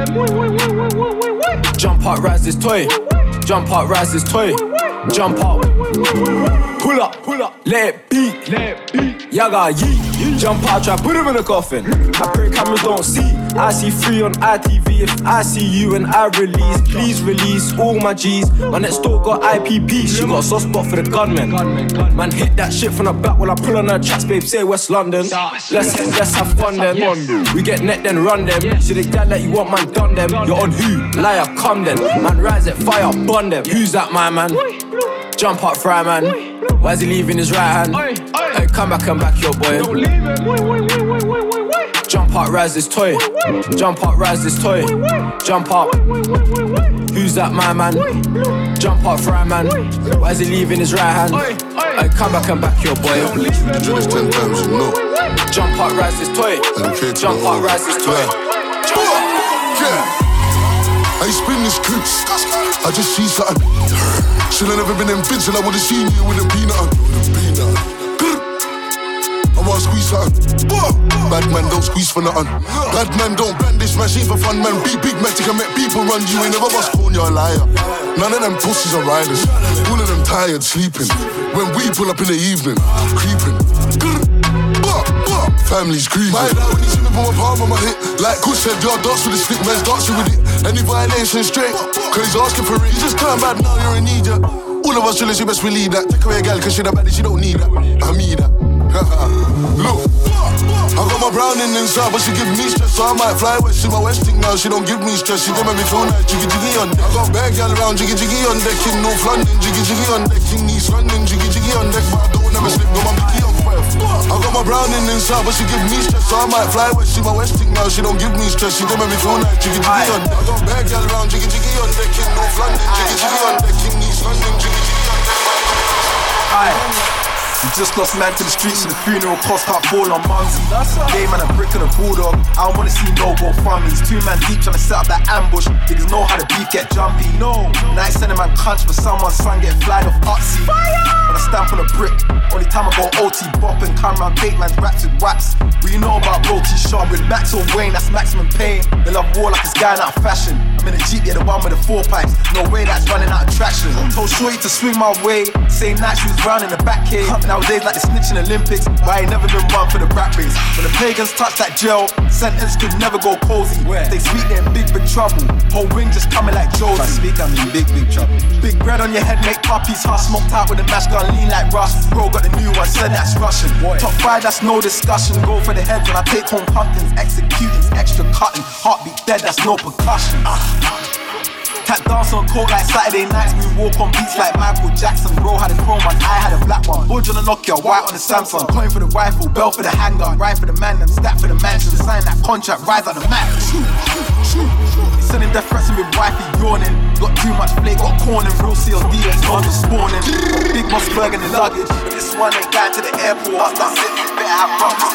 Jump up, rise this toy. Jump up, rise this toy. Jump up. Pull up, pull up. Let it beat, let it beat. Yaga yeet. Jump out, try put him in the coffin. I pray cameras don't see. I see free on I T V. If I see you and I release, please release all my G's. My next door got I P P. She got a soft spot for the gunman. Man hit that shit from the back while I pull on her tracks, babe. Say West London. Let's let's have fun then. We get net then run them. See the guy that you want, man done them. You're on who? Liar, come then. Man rise at fire, bun them. Who's that my man? Jump up, fry man. Why's he leaving his right hand? Hey, come back and back your boy. Jump up, rise this toy. Jump up, rise this toy. Jump up. Who's that my man? Jump up, fry man. Why's he leaving his right hand? Hey, come back and back your boy. Do this ten times, you know. Jump up, rise this toy. Jump up, rise this toy. Yeah. I spin this clips. I just see something. Should've never been in vision, I would've seen you with a peanut on. I wanna squeeze something. Bad man don't squeeze for nothing. Bad man don't brandish machine for fun, man. Be big man, can make people run. You ain't never bust corn, you're a liar. None of them pussies are riders. All of them tired, sleeping. When we pull up in the evening, creeping. Family's grieving. My dad, when you see me put my palm on my hip, like Kush said, y'all dance with the stick, man's dancing with it. Any violation straight, cause he's asking for it. You just come back now, you're in need, yeah. All of us chillin', you best believe that. Take away a gal, cause she the baddie, she don't need that. I mean that. Look, I got my browning inside, but she give me stress, so I might fly west. She my westing now, she don't give me stress. She don't make me feel nice, jiggy jiggy on deck. I got bad gal around, jiggy jiggy on deck. In North London, jiggy jiggy on deck. In East London, jiggy jiggy on deck. But I don't never slip, got my Mickey on fire. I got my browning inside, but she give me stress, so I might fly west. She my westing now, she don't give me stress. She don't make me feel nice, jiggy jiggy on deck. I got bad gal around, jiggy jiggy on deck. In North London, jiggy jiggy on deck. In East London, jiggy jiggy on deck. Aye. We just lost man to the streets and the funeral cost can't fall on Mumsy. Game man a brick and a bulldog. I don't wanna see no go funnies. Two man deep trying to set up that ambush. Niggas know how the beef get jumpy. No, now it's sending man cunch for someone's son get flied off Utsy. When I stamp on a brick, only time I go O T bop and come round bait man's raps with wax. We know about Roti Sharp with Max or Wayne, that's maximum pain. They love war like it's going out of fashion. I'm in a Jeep, yeah, the one with the four pipes. No way that's running out of traction. Told Shorty to swing my way. Same night she was round in the back cave. Nowadays like the snitching Olympics, but I ain't never been one for the rap race. When the pagans touch that gel, sentence could never go cozy. They speak, they in big, big trouble. Whole ring just coming like Josie. If I speak, I'm in big, big trouble. Big bread on your head, make puppies hush. Smoked out with a mash gun, lean like rust. Bro got the new one, said that's Russian. Top five, that's no discussion. Go for the heads when I take home pumpkins. Executing, extra cutting. Heartbeat dead, that's no percussion. Cat dance on court like Saturday nights. We walk on beats like Michael Jackson. Bro had a chrome one, I had a black one. Budge on the Nokia, white on the Samsung. Coin for the rifle, bell for the handgun. Ride for the man, them stack for the mansion. Sign that contract, rise out the mat. He's sending death threats and with wifey yawning. Got too much flake, got corn and real C L D and no spawning. Big Mossberg in the luggage. But this one ain't going to the airport. That's it, better have problems.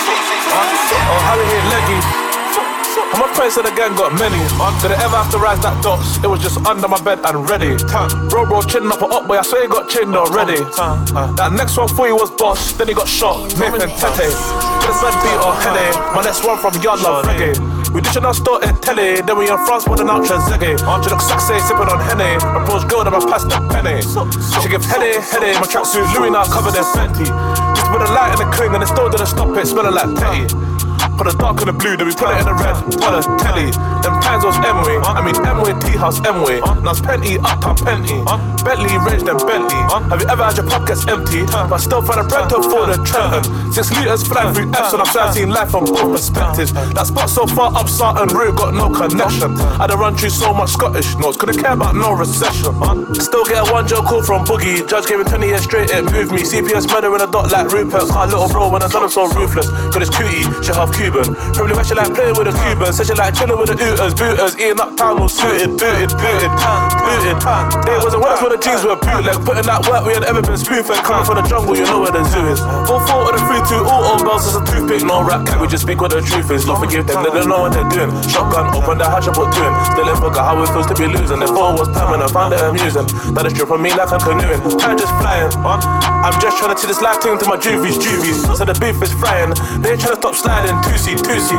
Oh, Harry hit leggy. And my friends said the gang got many. Did I ever have to rise that dots? It was just under my bed and ready. Bro, bro, chin up or up, boy, I swear he got chinned already. That next one for you was boss, then he got shot. Nathan Tete. This man beat or headache. My next one from Yard Love Reggae. We dishing our store in telly, then we in France with an ultra zeggy. She looks sexy, sipping on Henny. Approach girl, then I pass the penny. She give heady, heady. My tracksuit Louis now covered in Fenty. Just with a light in the cling and it still didn't stop it, smelling like Petty. Put the dark and the blue, then we put it in the red. Put a telly. Them times was M-way. I mean M-way, T-house, M-way. Now it's Penty, uptown Penty. Bentley, range, then Bentley. Have you ever had your pockets empty? But still find a bread to afford a Trenton. Six litres flying through F's, and I'm trying to see life from both perspectives. That spot so far up Sarton Road got no connection. I done run through so much Scottish notes, couldn't care about no recession. Still get a one joke call from Boogie. Judge gave me twenty years straight, it moved me. C P S murder in a dot like Rupert. My little bro when I done him so ruthless. Cause it's cutie, she half Cuban. Probably why she like playing with the Cubans. Said she like chilling with the Ooters, booters. Eating up time all suited, booted, booted, booted. It wasn't worse when the jeans were bootleg. Putting that work we had ever been spoon-fed. Coming from the jungle, you know where the zoo is. All four of the three two, all old bells is a toothpick. No rap, can we just speak what the truth is? Lord forgive them, they don't know what they're doing. Shotgun, open the hatch, I put two in. Still in forgot how it feels to be losing. If all was permanent, I found it amusing. Now the strip on me like I'm canoeing. Time just flying. I'm just trying to see this life thing to my juvies, juvies. So the beef is frying. They ain't trying to stop sliding. Two-C, two-C.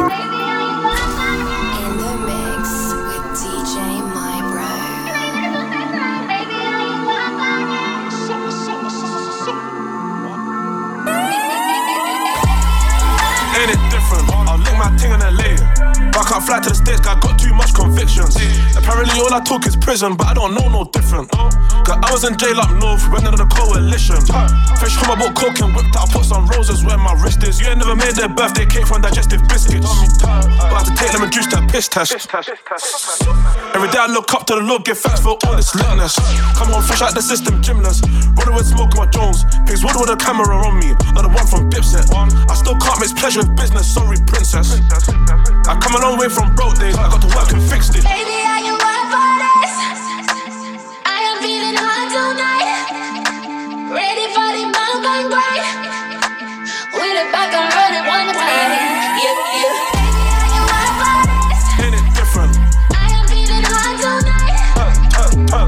Ain't it different? I'll lick my ting in L A. But I can't fly to the States, cause I got too much convictions. Apparently all I talk is prison, but I don't know no different. Cause I was in jail up north, went under the coalition. Fresh home, I bought coke and whipped out, put some roses where my wrist is. You ain't never made their birthday cake from digestive biscuits. But I had to take them and juice that piss test. Every day I look up to the Lord, give thanks for all this litness. Come on, fresh out the system, gymnast. Running with smoke on my Jones. Pigs wood with a camera on me, not the one from Dipset. I still can't mix pleasure with business, sorry princess. I come a long way from broke days, I got to work and fix it. Baby, I can work for this. I am feeling hot tonight. Ready for the mountain break. With it back and run it one more time. Yeah, yeah. Baby, I can work for this. Ain't it different? I am feeling hot tonight.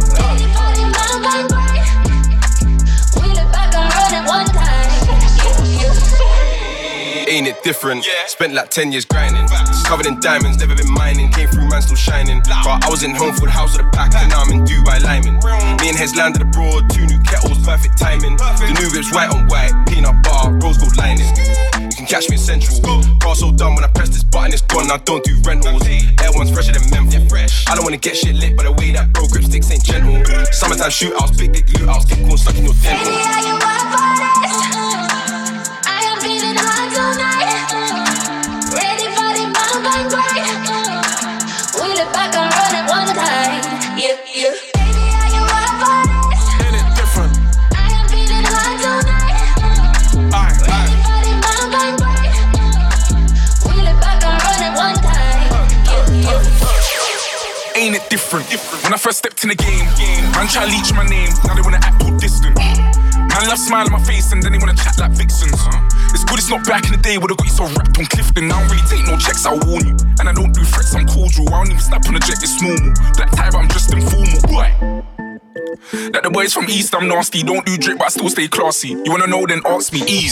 different. Spent like ten years grinding. Covered in diamonds, never been mining. Came through, man, still shining. But I was in home for the house with a pack, and now I'm in Dubai Lyman. Me and Hez landed abroad, two new kettles, perfect timing. The new whip's white on white, peanut bar, rose gold lining. You can catch me in Central. Car so done when I press this button, it's gone. I don't do rentals. Air one's fresher than Memphis. I don't wanna get shit lit, but the way that bro grip sticks ain't gentle. Summertime shootouts, big dick loot outs, get corn stuck in your dental. Baby, are you up for this? I am feeling hot tonight. Ready for the bang bang bang. Wheel it back and run it one time. Yeah, yeah. Baby, are you up for this? Ain't it different? I am feeling hot tonight. Aye, Ready for the bang bang bang. Wheel it back and run it one time. Yeah, yeah. Ain't it different? When I first stepped in the game, man try to leech my name, now they wanna act all distant. Man love smile on my face and then they wanna chat like vixens. It's good it's not back in the day, would've got you so wrapped on Clifton. I don't really take no checks, I'll warn you. And I don't do threats, I'm cordial. I don't even snap on a jet, it's normal. Black tie, but I'm just informal. Boy. Like the boys from East, I'm nasty. Don't do drip, but I still stay classy. You wanna know, then ask me, ease.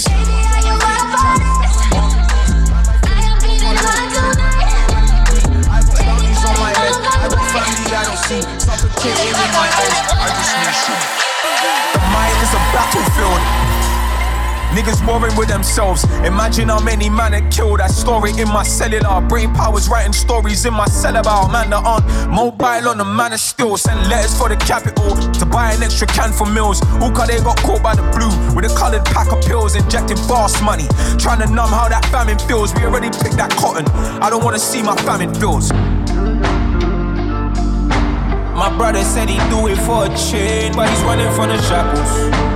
I don't see suffocating in my eyes. I just need shit. The mind is a battlefield. Niggas warring with themselves. Imagine how many man it killed. That story in my cellular. Brain powers writing stories in my cell about man that aren't mobile on the man of still. Send letters for the capital to buy an extra can for meals. All cause they got caught by the blue with a coloured pack of pills, injecting fast money, trying to numb how that famine feels. We already picked that cotton. I don't wanna see my famine feels. My brother said he'd do it for a chain, but he's running from the shackles.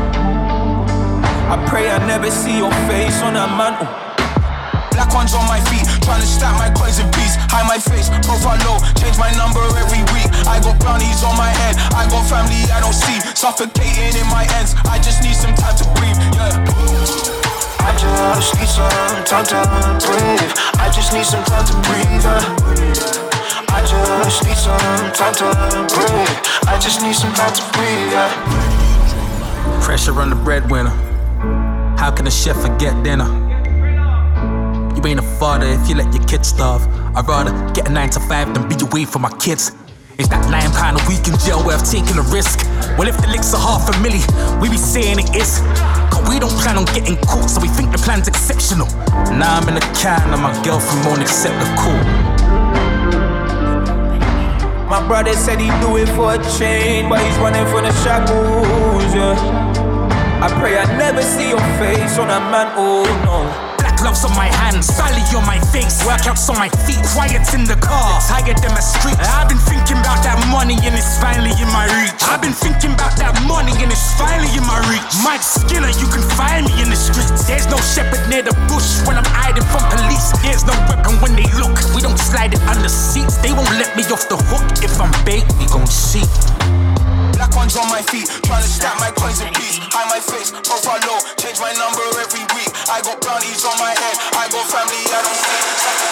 I pray I never see your face on that mantle. Black ones on my feet, trying to stack my coins in peace. Hide my face, profile low, change my number every week. I got brownies on my head, I got family I don't see. Suffocating in my ends, I just need some time to breathe, yeah. I just need some time to breathe. I just need some time to breathe, yeah. I just need some time to breathe. I just need some time to breathe, yeah. Pressure on the breadwinner. How can a chef forget dinner? You ain't a father if you let your kids starve. I'd rather get a nine to five than be away from my kids. Is that nine pound a week in jail worth taking a risk? Well, if the licks are half a milli, we be saying it is. Cause we don't plan on getting caught, so we think the plan's exceptional. Now I'm in the can and my girlfriend won't accept the call. My brother said he'd do it for a chain, but he's running from the shackles, yeah. I pray I never see your face on that man, oh no. Black gloves on my hands, Sally on my face, workouts on my feet, quiet in the car, tired in my street. I've been thinking about that money and it's finally in my reach. I've been thinking about that money and it's finally in my reach. Mike Skinner, you can find me in the streets. There's no shepherd near the bush when I'm hiding from police. There's no weapon when they look, we don't slide it under seats. They won't let me off the hook, if I'm bait, we gon' see. Black ones on my feet, trying to stack my coins in peace. Hide my face, profile low, change my number every week. I got brownies on my head, I got family I don't see.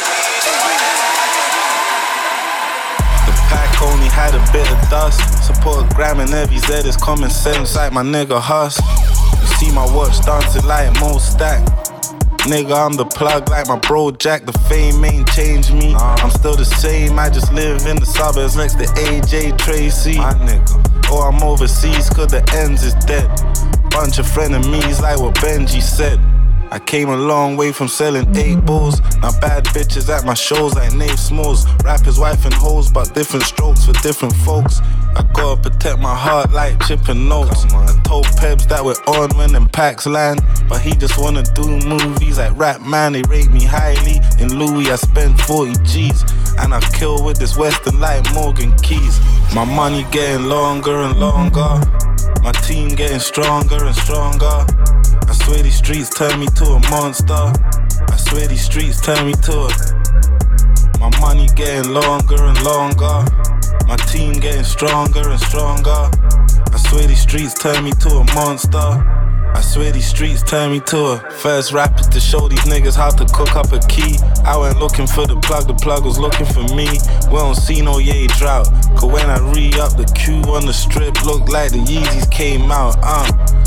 The pack only had a bit of dust. Support a gram and every Z is common sense like my nigga Huss. You see my watch dancing like Mo Stack. Nigga, I'm the plug like my bro Jack. The fame ain't changed me. I'm still the same, I just live in the suburbs next to A J Tracy. My nigga. Or I'm overseas cause the ends is dead. Bunch of frenemies like what Benji said. I came a long way from selling eight balls. Now bad bitches at my shows like Nave Smalls. Rappers, wife and hoes, but different strokes for different folks. I gotta protect my heart like chipping notes. I told Pebs that we're on when them packs land, but he just wanna do movies like Rap Man. They rate me highly. In Louis I spent forty G's, and I kill with this Western like Morgan Keys. My money getting longer and longer. My team getting stronger and stronger. I swear these streets turn me to a monster. I swear these streets turn me to a... My money getting longer and longer. My team getting stronger and stronger. I swear these streets turn me to a monster. I swear these streets turn me to a... First rapper to show these niggas how to cook up a key. I went looking for the plug, the plug was looking for me. We don't see no yay drought, cause when I re-up the queue on the strip, looked like the Yeezys came out, uh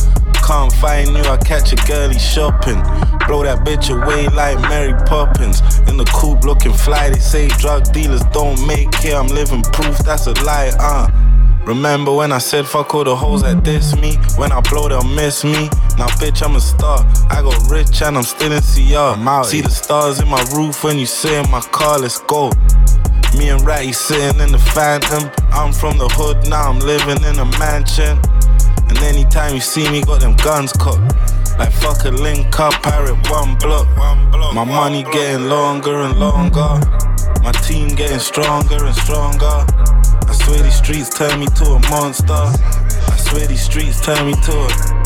can't find you, I catch a girlie shopping. Blow that bitch away like Mary Poppins. In the coupe looking fly, they say drug dealers don't make it. I'm living proof that's a lie, uh. Remember when I said fuck all the hoes that diss me? When I blow they'll miss me. Now bitch I'm a star, I got rich and I'm still in C R. See the stars in my roof when you sit in my car, let's go. Me and Ratty sitting in the Phantom. I'm from the hood, now I'm living in a mansion. And anytime you see me, got them guns cocked. Like fuck a link up, pirate one block. My money getting longer and longer. My team getting stronger and stronger. I swear these streets turn me to a monster. I swear these streets turn me to a...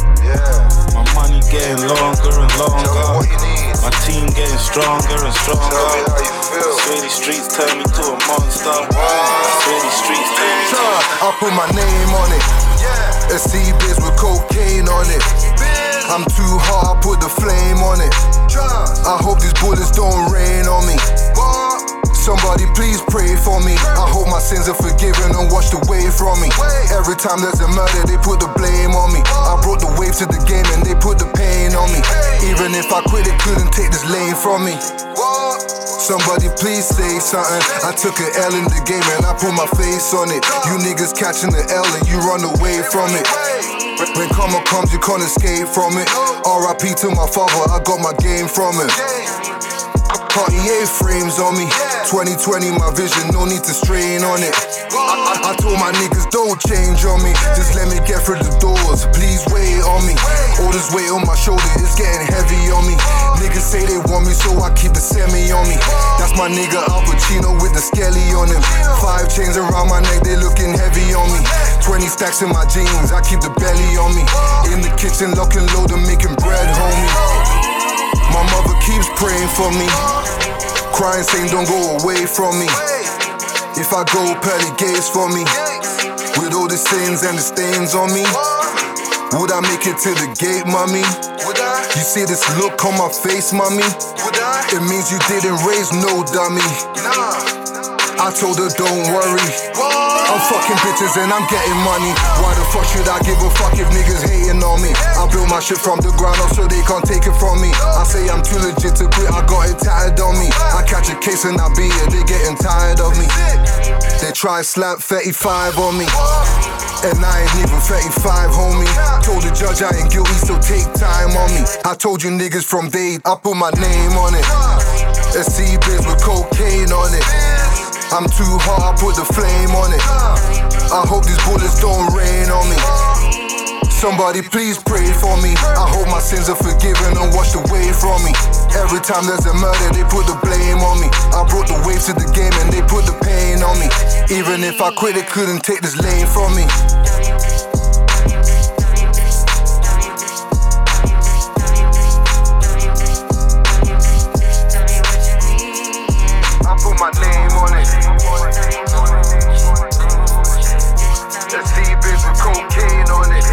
My money getting longer and longer. My team getting stronger and stronger. I swear these streets turn me to a monster. I swear these streets turn me to a... I put my name on it. A C-biz with cocaine on it. I'm too hot, I put the flame on it. I hope these bullets don't rain on me. Somebody please pray for me. I hope my sins are forgiven and washed away from me. Every time there's a murder, they put the blame on me. I brought the wave to the game and they put the pain on me. Even if I quit, it couldn't take this lane from me. Somebody please say something. I took an L in the game and I put my face on it. You niggas catching the L and you run away from it. When karma comes, you can't escape from it. R I P to my father, I got my game from it. Cartier frames on me. twenty twenty, my vision, no need to strain on it. I, I told my niggas don't change on me. Just let me get through the doors, please wait on me. All this weight on my shoulder is getting heavy on me. Niggas say they want me, so I keep the semi on me. That's my nigga Al Pacino with the skelly on him. Five chains around my neck, they looking heavy on me. Twenty stacks in my jeans, I keep the belly on me. In the kitchen, lock and load and making bread, homie. My mother keeps praying for me. Crying, saying don't go away from me. If I go, pearly gates for me. With all the sins and the stains on me, would I make it to the gate, mommy? You see this look on my face, mommy? It means you didn't raise no dummy. I told her don't worry, I'm fucking bitches and I'm getting money. Why the fuck should I give a fuck if niggas hating on me? I built my shit from the ground up so they can't take it from me. I say I'm too legit to quit, I got it tatted on me. I catch a case and I beat it, they getting tired of me. They try slap thirty-five on me, and I ain't even thirty-five, homie. Told the judge I ain't guilty, so take time on me. I told you niggas from day, I put my name on it. A C-biz with cocaine on it. I'm too hot, I put the flame on it. I hope these bullets don't rain on me. Somebody please pray for me. I hope my sins are forgiven and washed away from me. Every time there's a murder, they put the blame on me. I brought the wave to the game and they put the pain on me. Even if I quit, it couldn't take this lane from me. I put my name on it. A C-biz with cocaine on it.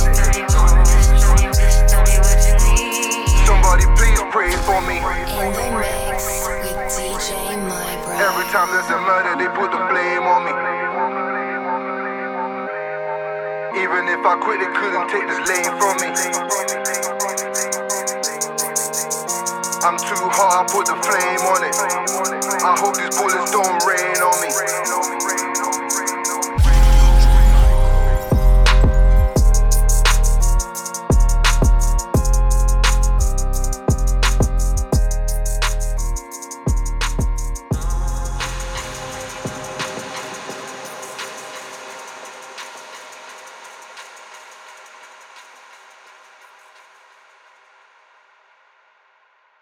Somebody please pray for me. In the mix with D J My Bride. Every time there's a murder, they put the blame on me. Even if I quit, it couldn't take this lane from me. I'm too hot, I put the flame on it. I hope these bullets don't rain on me.